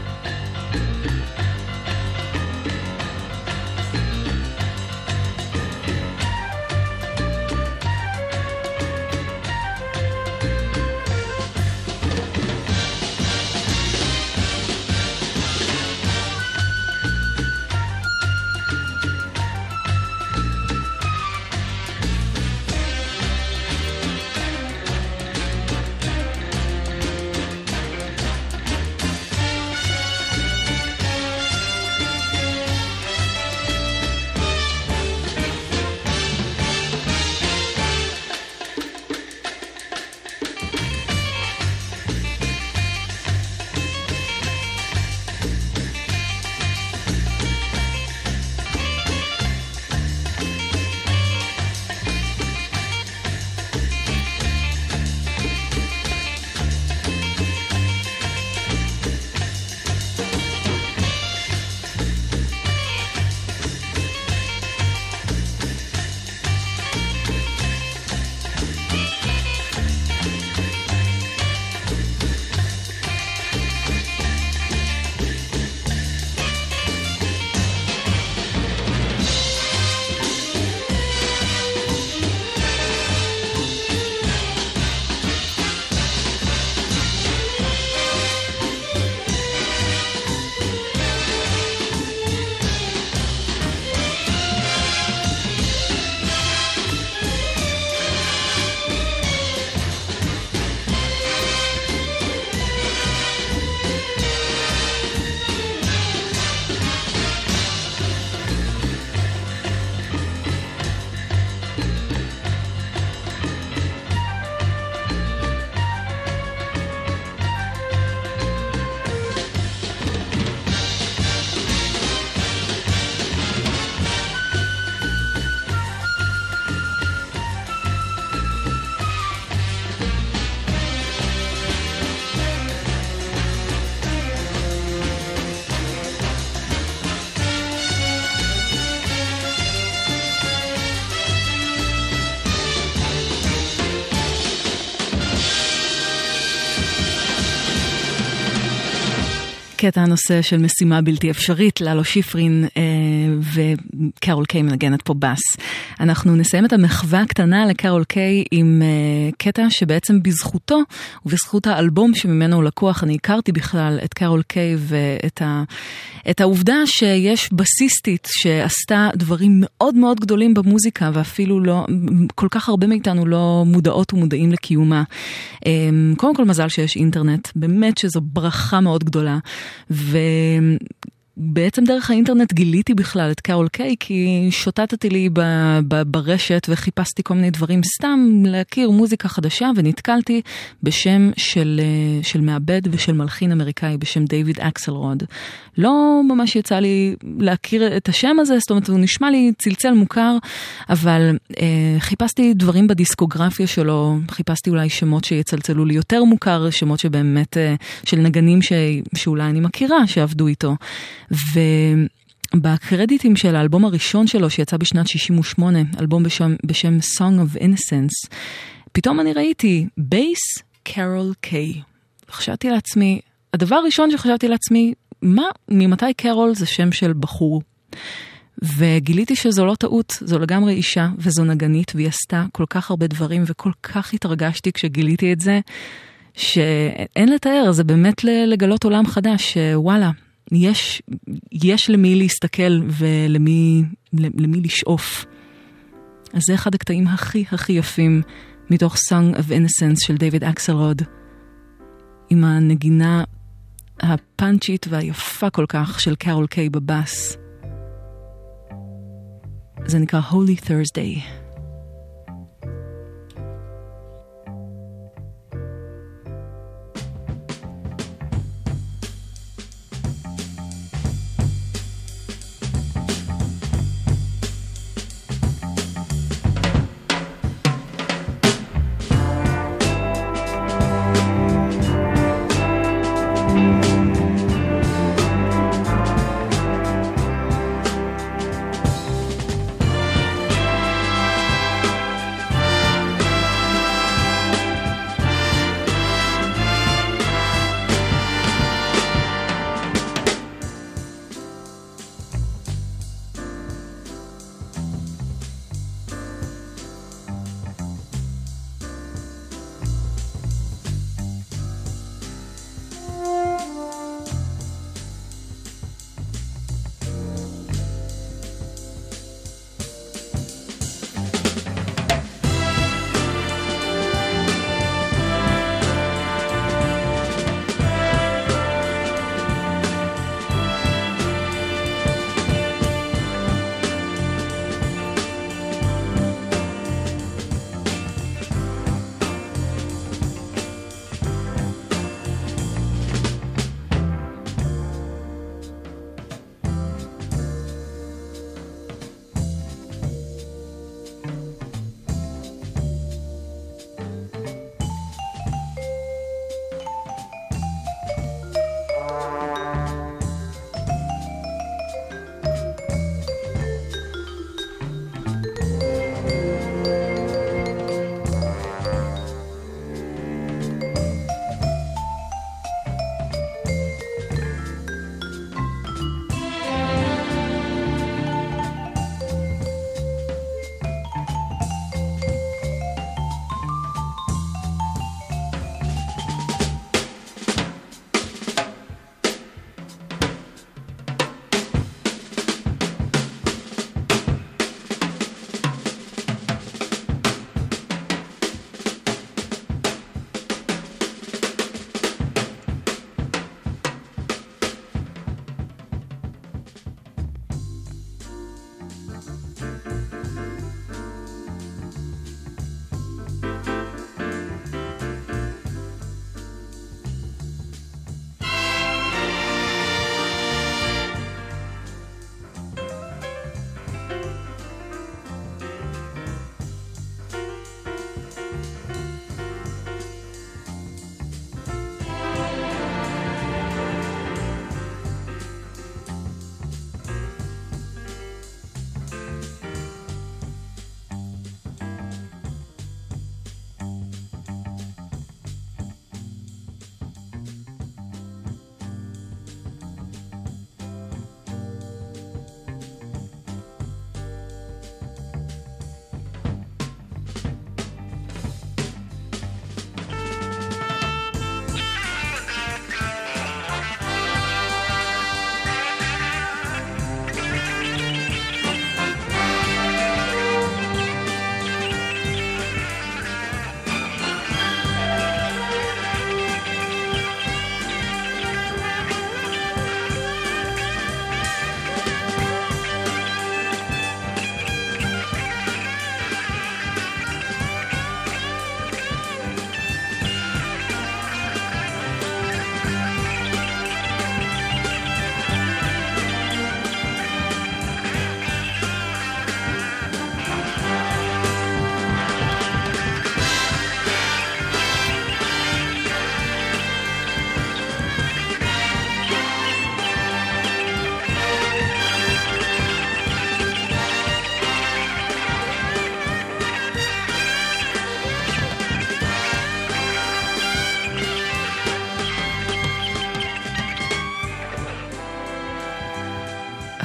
קטע הנושא של משימה בלתי אפשרית, ללו שיפרין וקרול קיי מנגנת פה בס. אנחנו נסיים את המחווה הקטנה לקרול קיי עם קטע שבעצם בזכותו ובזכות האלבום שממנו הוא לקוח, אני הכרתי בכלל את קרול קיי ואת העובדה שיש בסיסטית שעשתה דברים מאוד מאוד גדולים במוזיקה ואפילו לא, כל כך הרבה מאיתנו לא מודעות ומודעים לקיומה. קודם כל מזל שיש אינטרנט, באמת שזו ברכה מאוד גדולה. ובעצם דרך האינטרנט גיליתי בכלל את קרול קיי, כי שוטטתי לי ברשת וחיפשתי כל מיני דברים סתם להכיר מוזיקה חדשה, ונתקלתי בשם של מעבד ושל מלחין אמריקאי בשם דיוויד אקסלרוד. לא ממש יצא לי להכיר את השם הזה, זאת אומרת הוא נשמע לי צלצל מוכר, אבל חיפשתי דברים בדיסקוגרפיה שלו, חיפשתי אולי שמות שיצלצלו לי יותר מוכר, שמות שבאמת של נגנים שאולי אני מכירה שעבדו איתו. ובקרדיטים של האלבום הראשון שלו שיצא בשנת 68, אלבום בשם Song of Innocence, פתאום אני ראיתי בייס קרול קיי. חשבתי לעצמי, הדבר הראשון שחשבתי לעצמי, ממתי קרול זה שם של בחור? וגיליתי שזו לא טעות, זו לגמרי אישה וזו נגנית, והיא עשתה כל כך הרבה דברים וכל כך התרגשתי כשגיליתי את זה, שאין לתאר, זה באמת לגלות עולם חדש, שוואלה, יש למי להסתכל ולמי לשאוף. אז זה אחד הקטעים הכי יפים מתוך Song of Innocence של דיוויד אקסלרוד, עם הנגינה הפאנצ'ית והיפה כל כך של קרול קיי בבאס. זה נקרא Holy Thursday.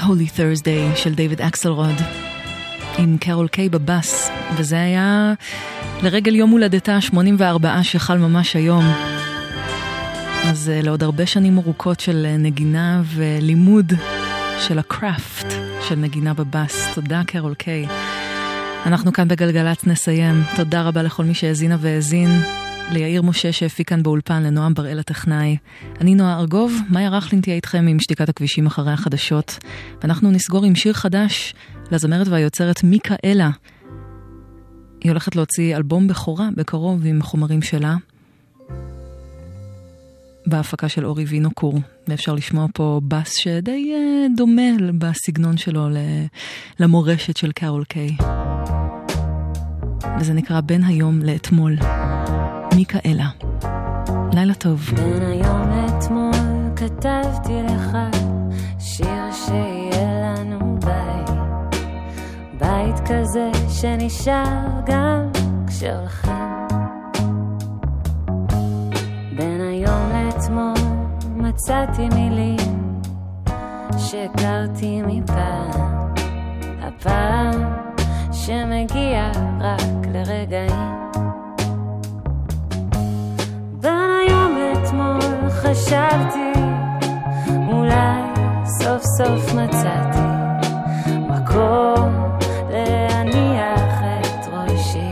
Holy Thursday של דיוויד אקסלרוד עם קרול קיי בבאס, וזה היה לרגל יום הולדתה 84 שחל ממש היום. אז לעוד הרבה שנים ארוכות של נגינה ולימוד של הקראפט של נגינה בבאס. תודה קרול קיי. אנחנו כאן בגלגלץ נסיים. תודה רבה לכל מי שהאזינה והאזין, ליאיר משה שהפיק כאן באולפן, לנועם בראל הטכנאי. אני נועה ארגוב, מאיה רכלין תהיה איתכם עם שתיקת הכבישים אחרי החדשות, ואנחנו נסגור עם שיר חדש לזמרת והיוצרת מיקאלה. היא הולכת להוציא אלבום בכורה בקרוב עם חומרים שלה, בהפקה של אורי וינוקור, ואפשר לשמוע פה בס שדי דומה בסגנון שלו למורשת של קרול קיי, וזה נקרא בין היום לאתמול. מיקאלה, לילה טוב. בין היום לאתמול כתבתי לך שיר שיהיה לנו בית כזה שנשאר גם כשהולכים. בין היום לאתמול מצאתי מילים שהכרתי מפעם, הפעם שמגיע רק לרגעים. בין היום לאתמול חשבתי, אולי סוף סוף מצאתי מקום להניח את ראשי.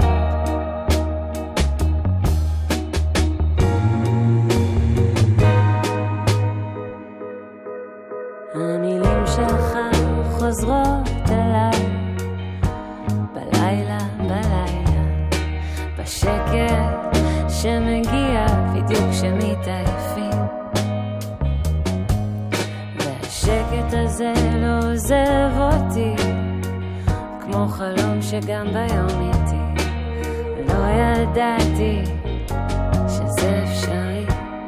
המילים שלך חוזרות אליי בלילה, בשקט שמגיע בדיוק כשמתעייפים, והשקט הזה לא עוזב אותי, כמו חלום שגם ביום איתי. לא ידעתי שזה אפשרי.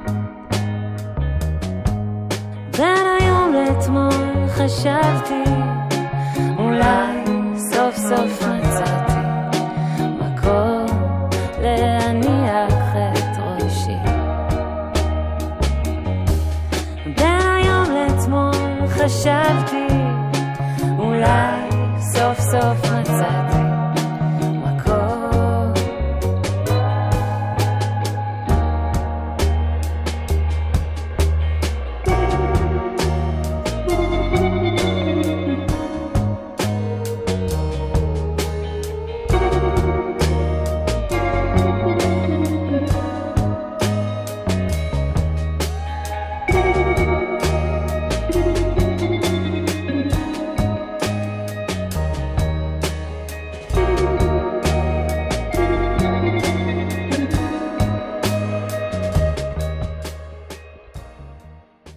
בין היום לאתמול חשבתי, אולי סוף סוף מצאתי מקום להניח את ראשי. בין היום לאתמול חשבתי, אולי סוף סוף מצאתי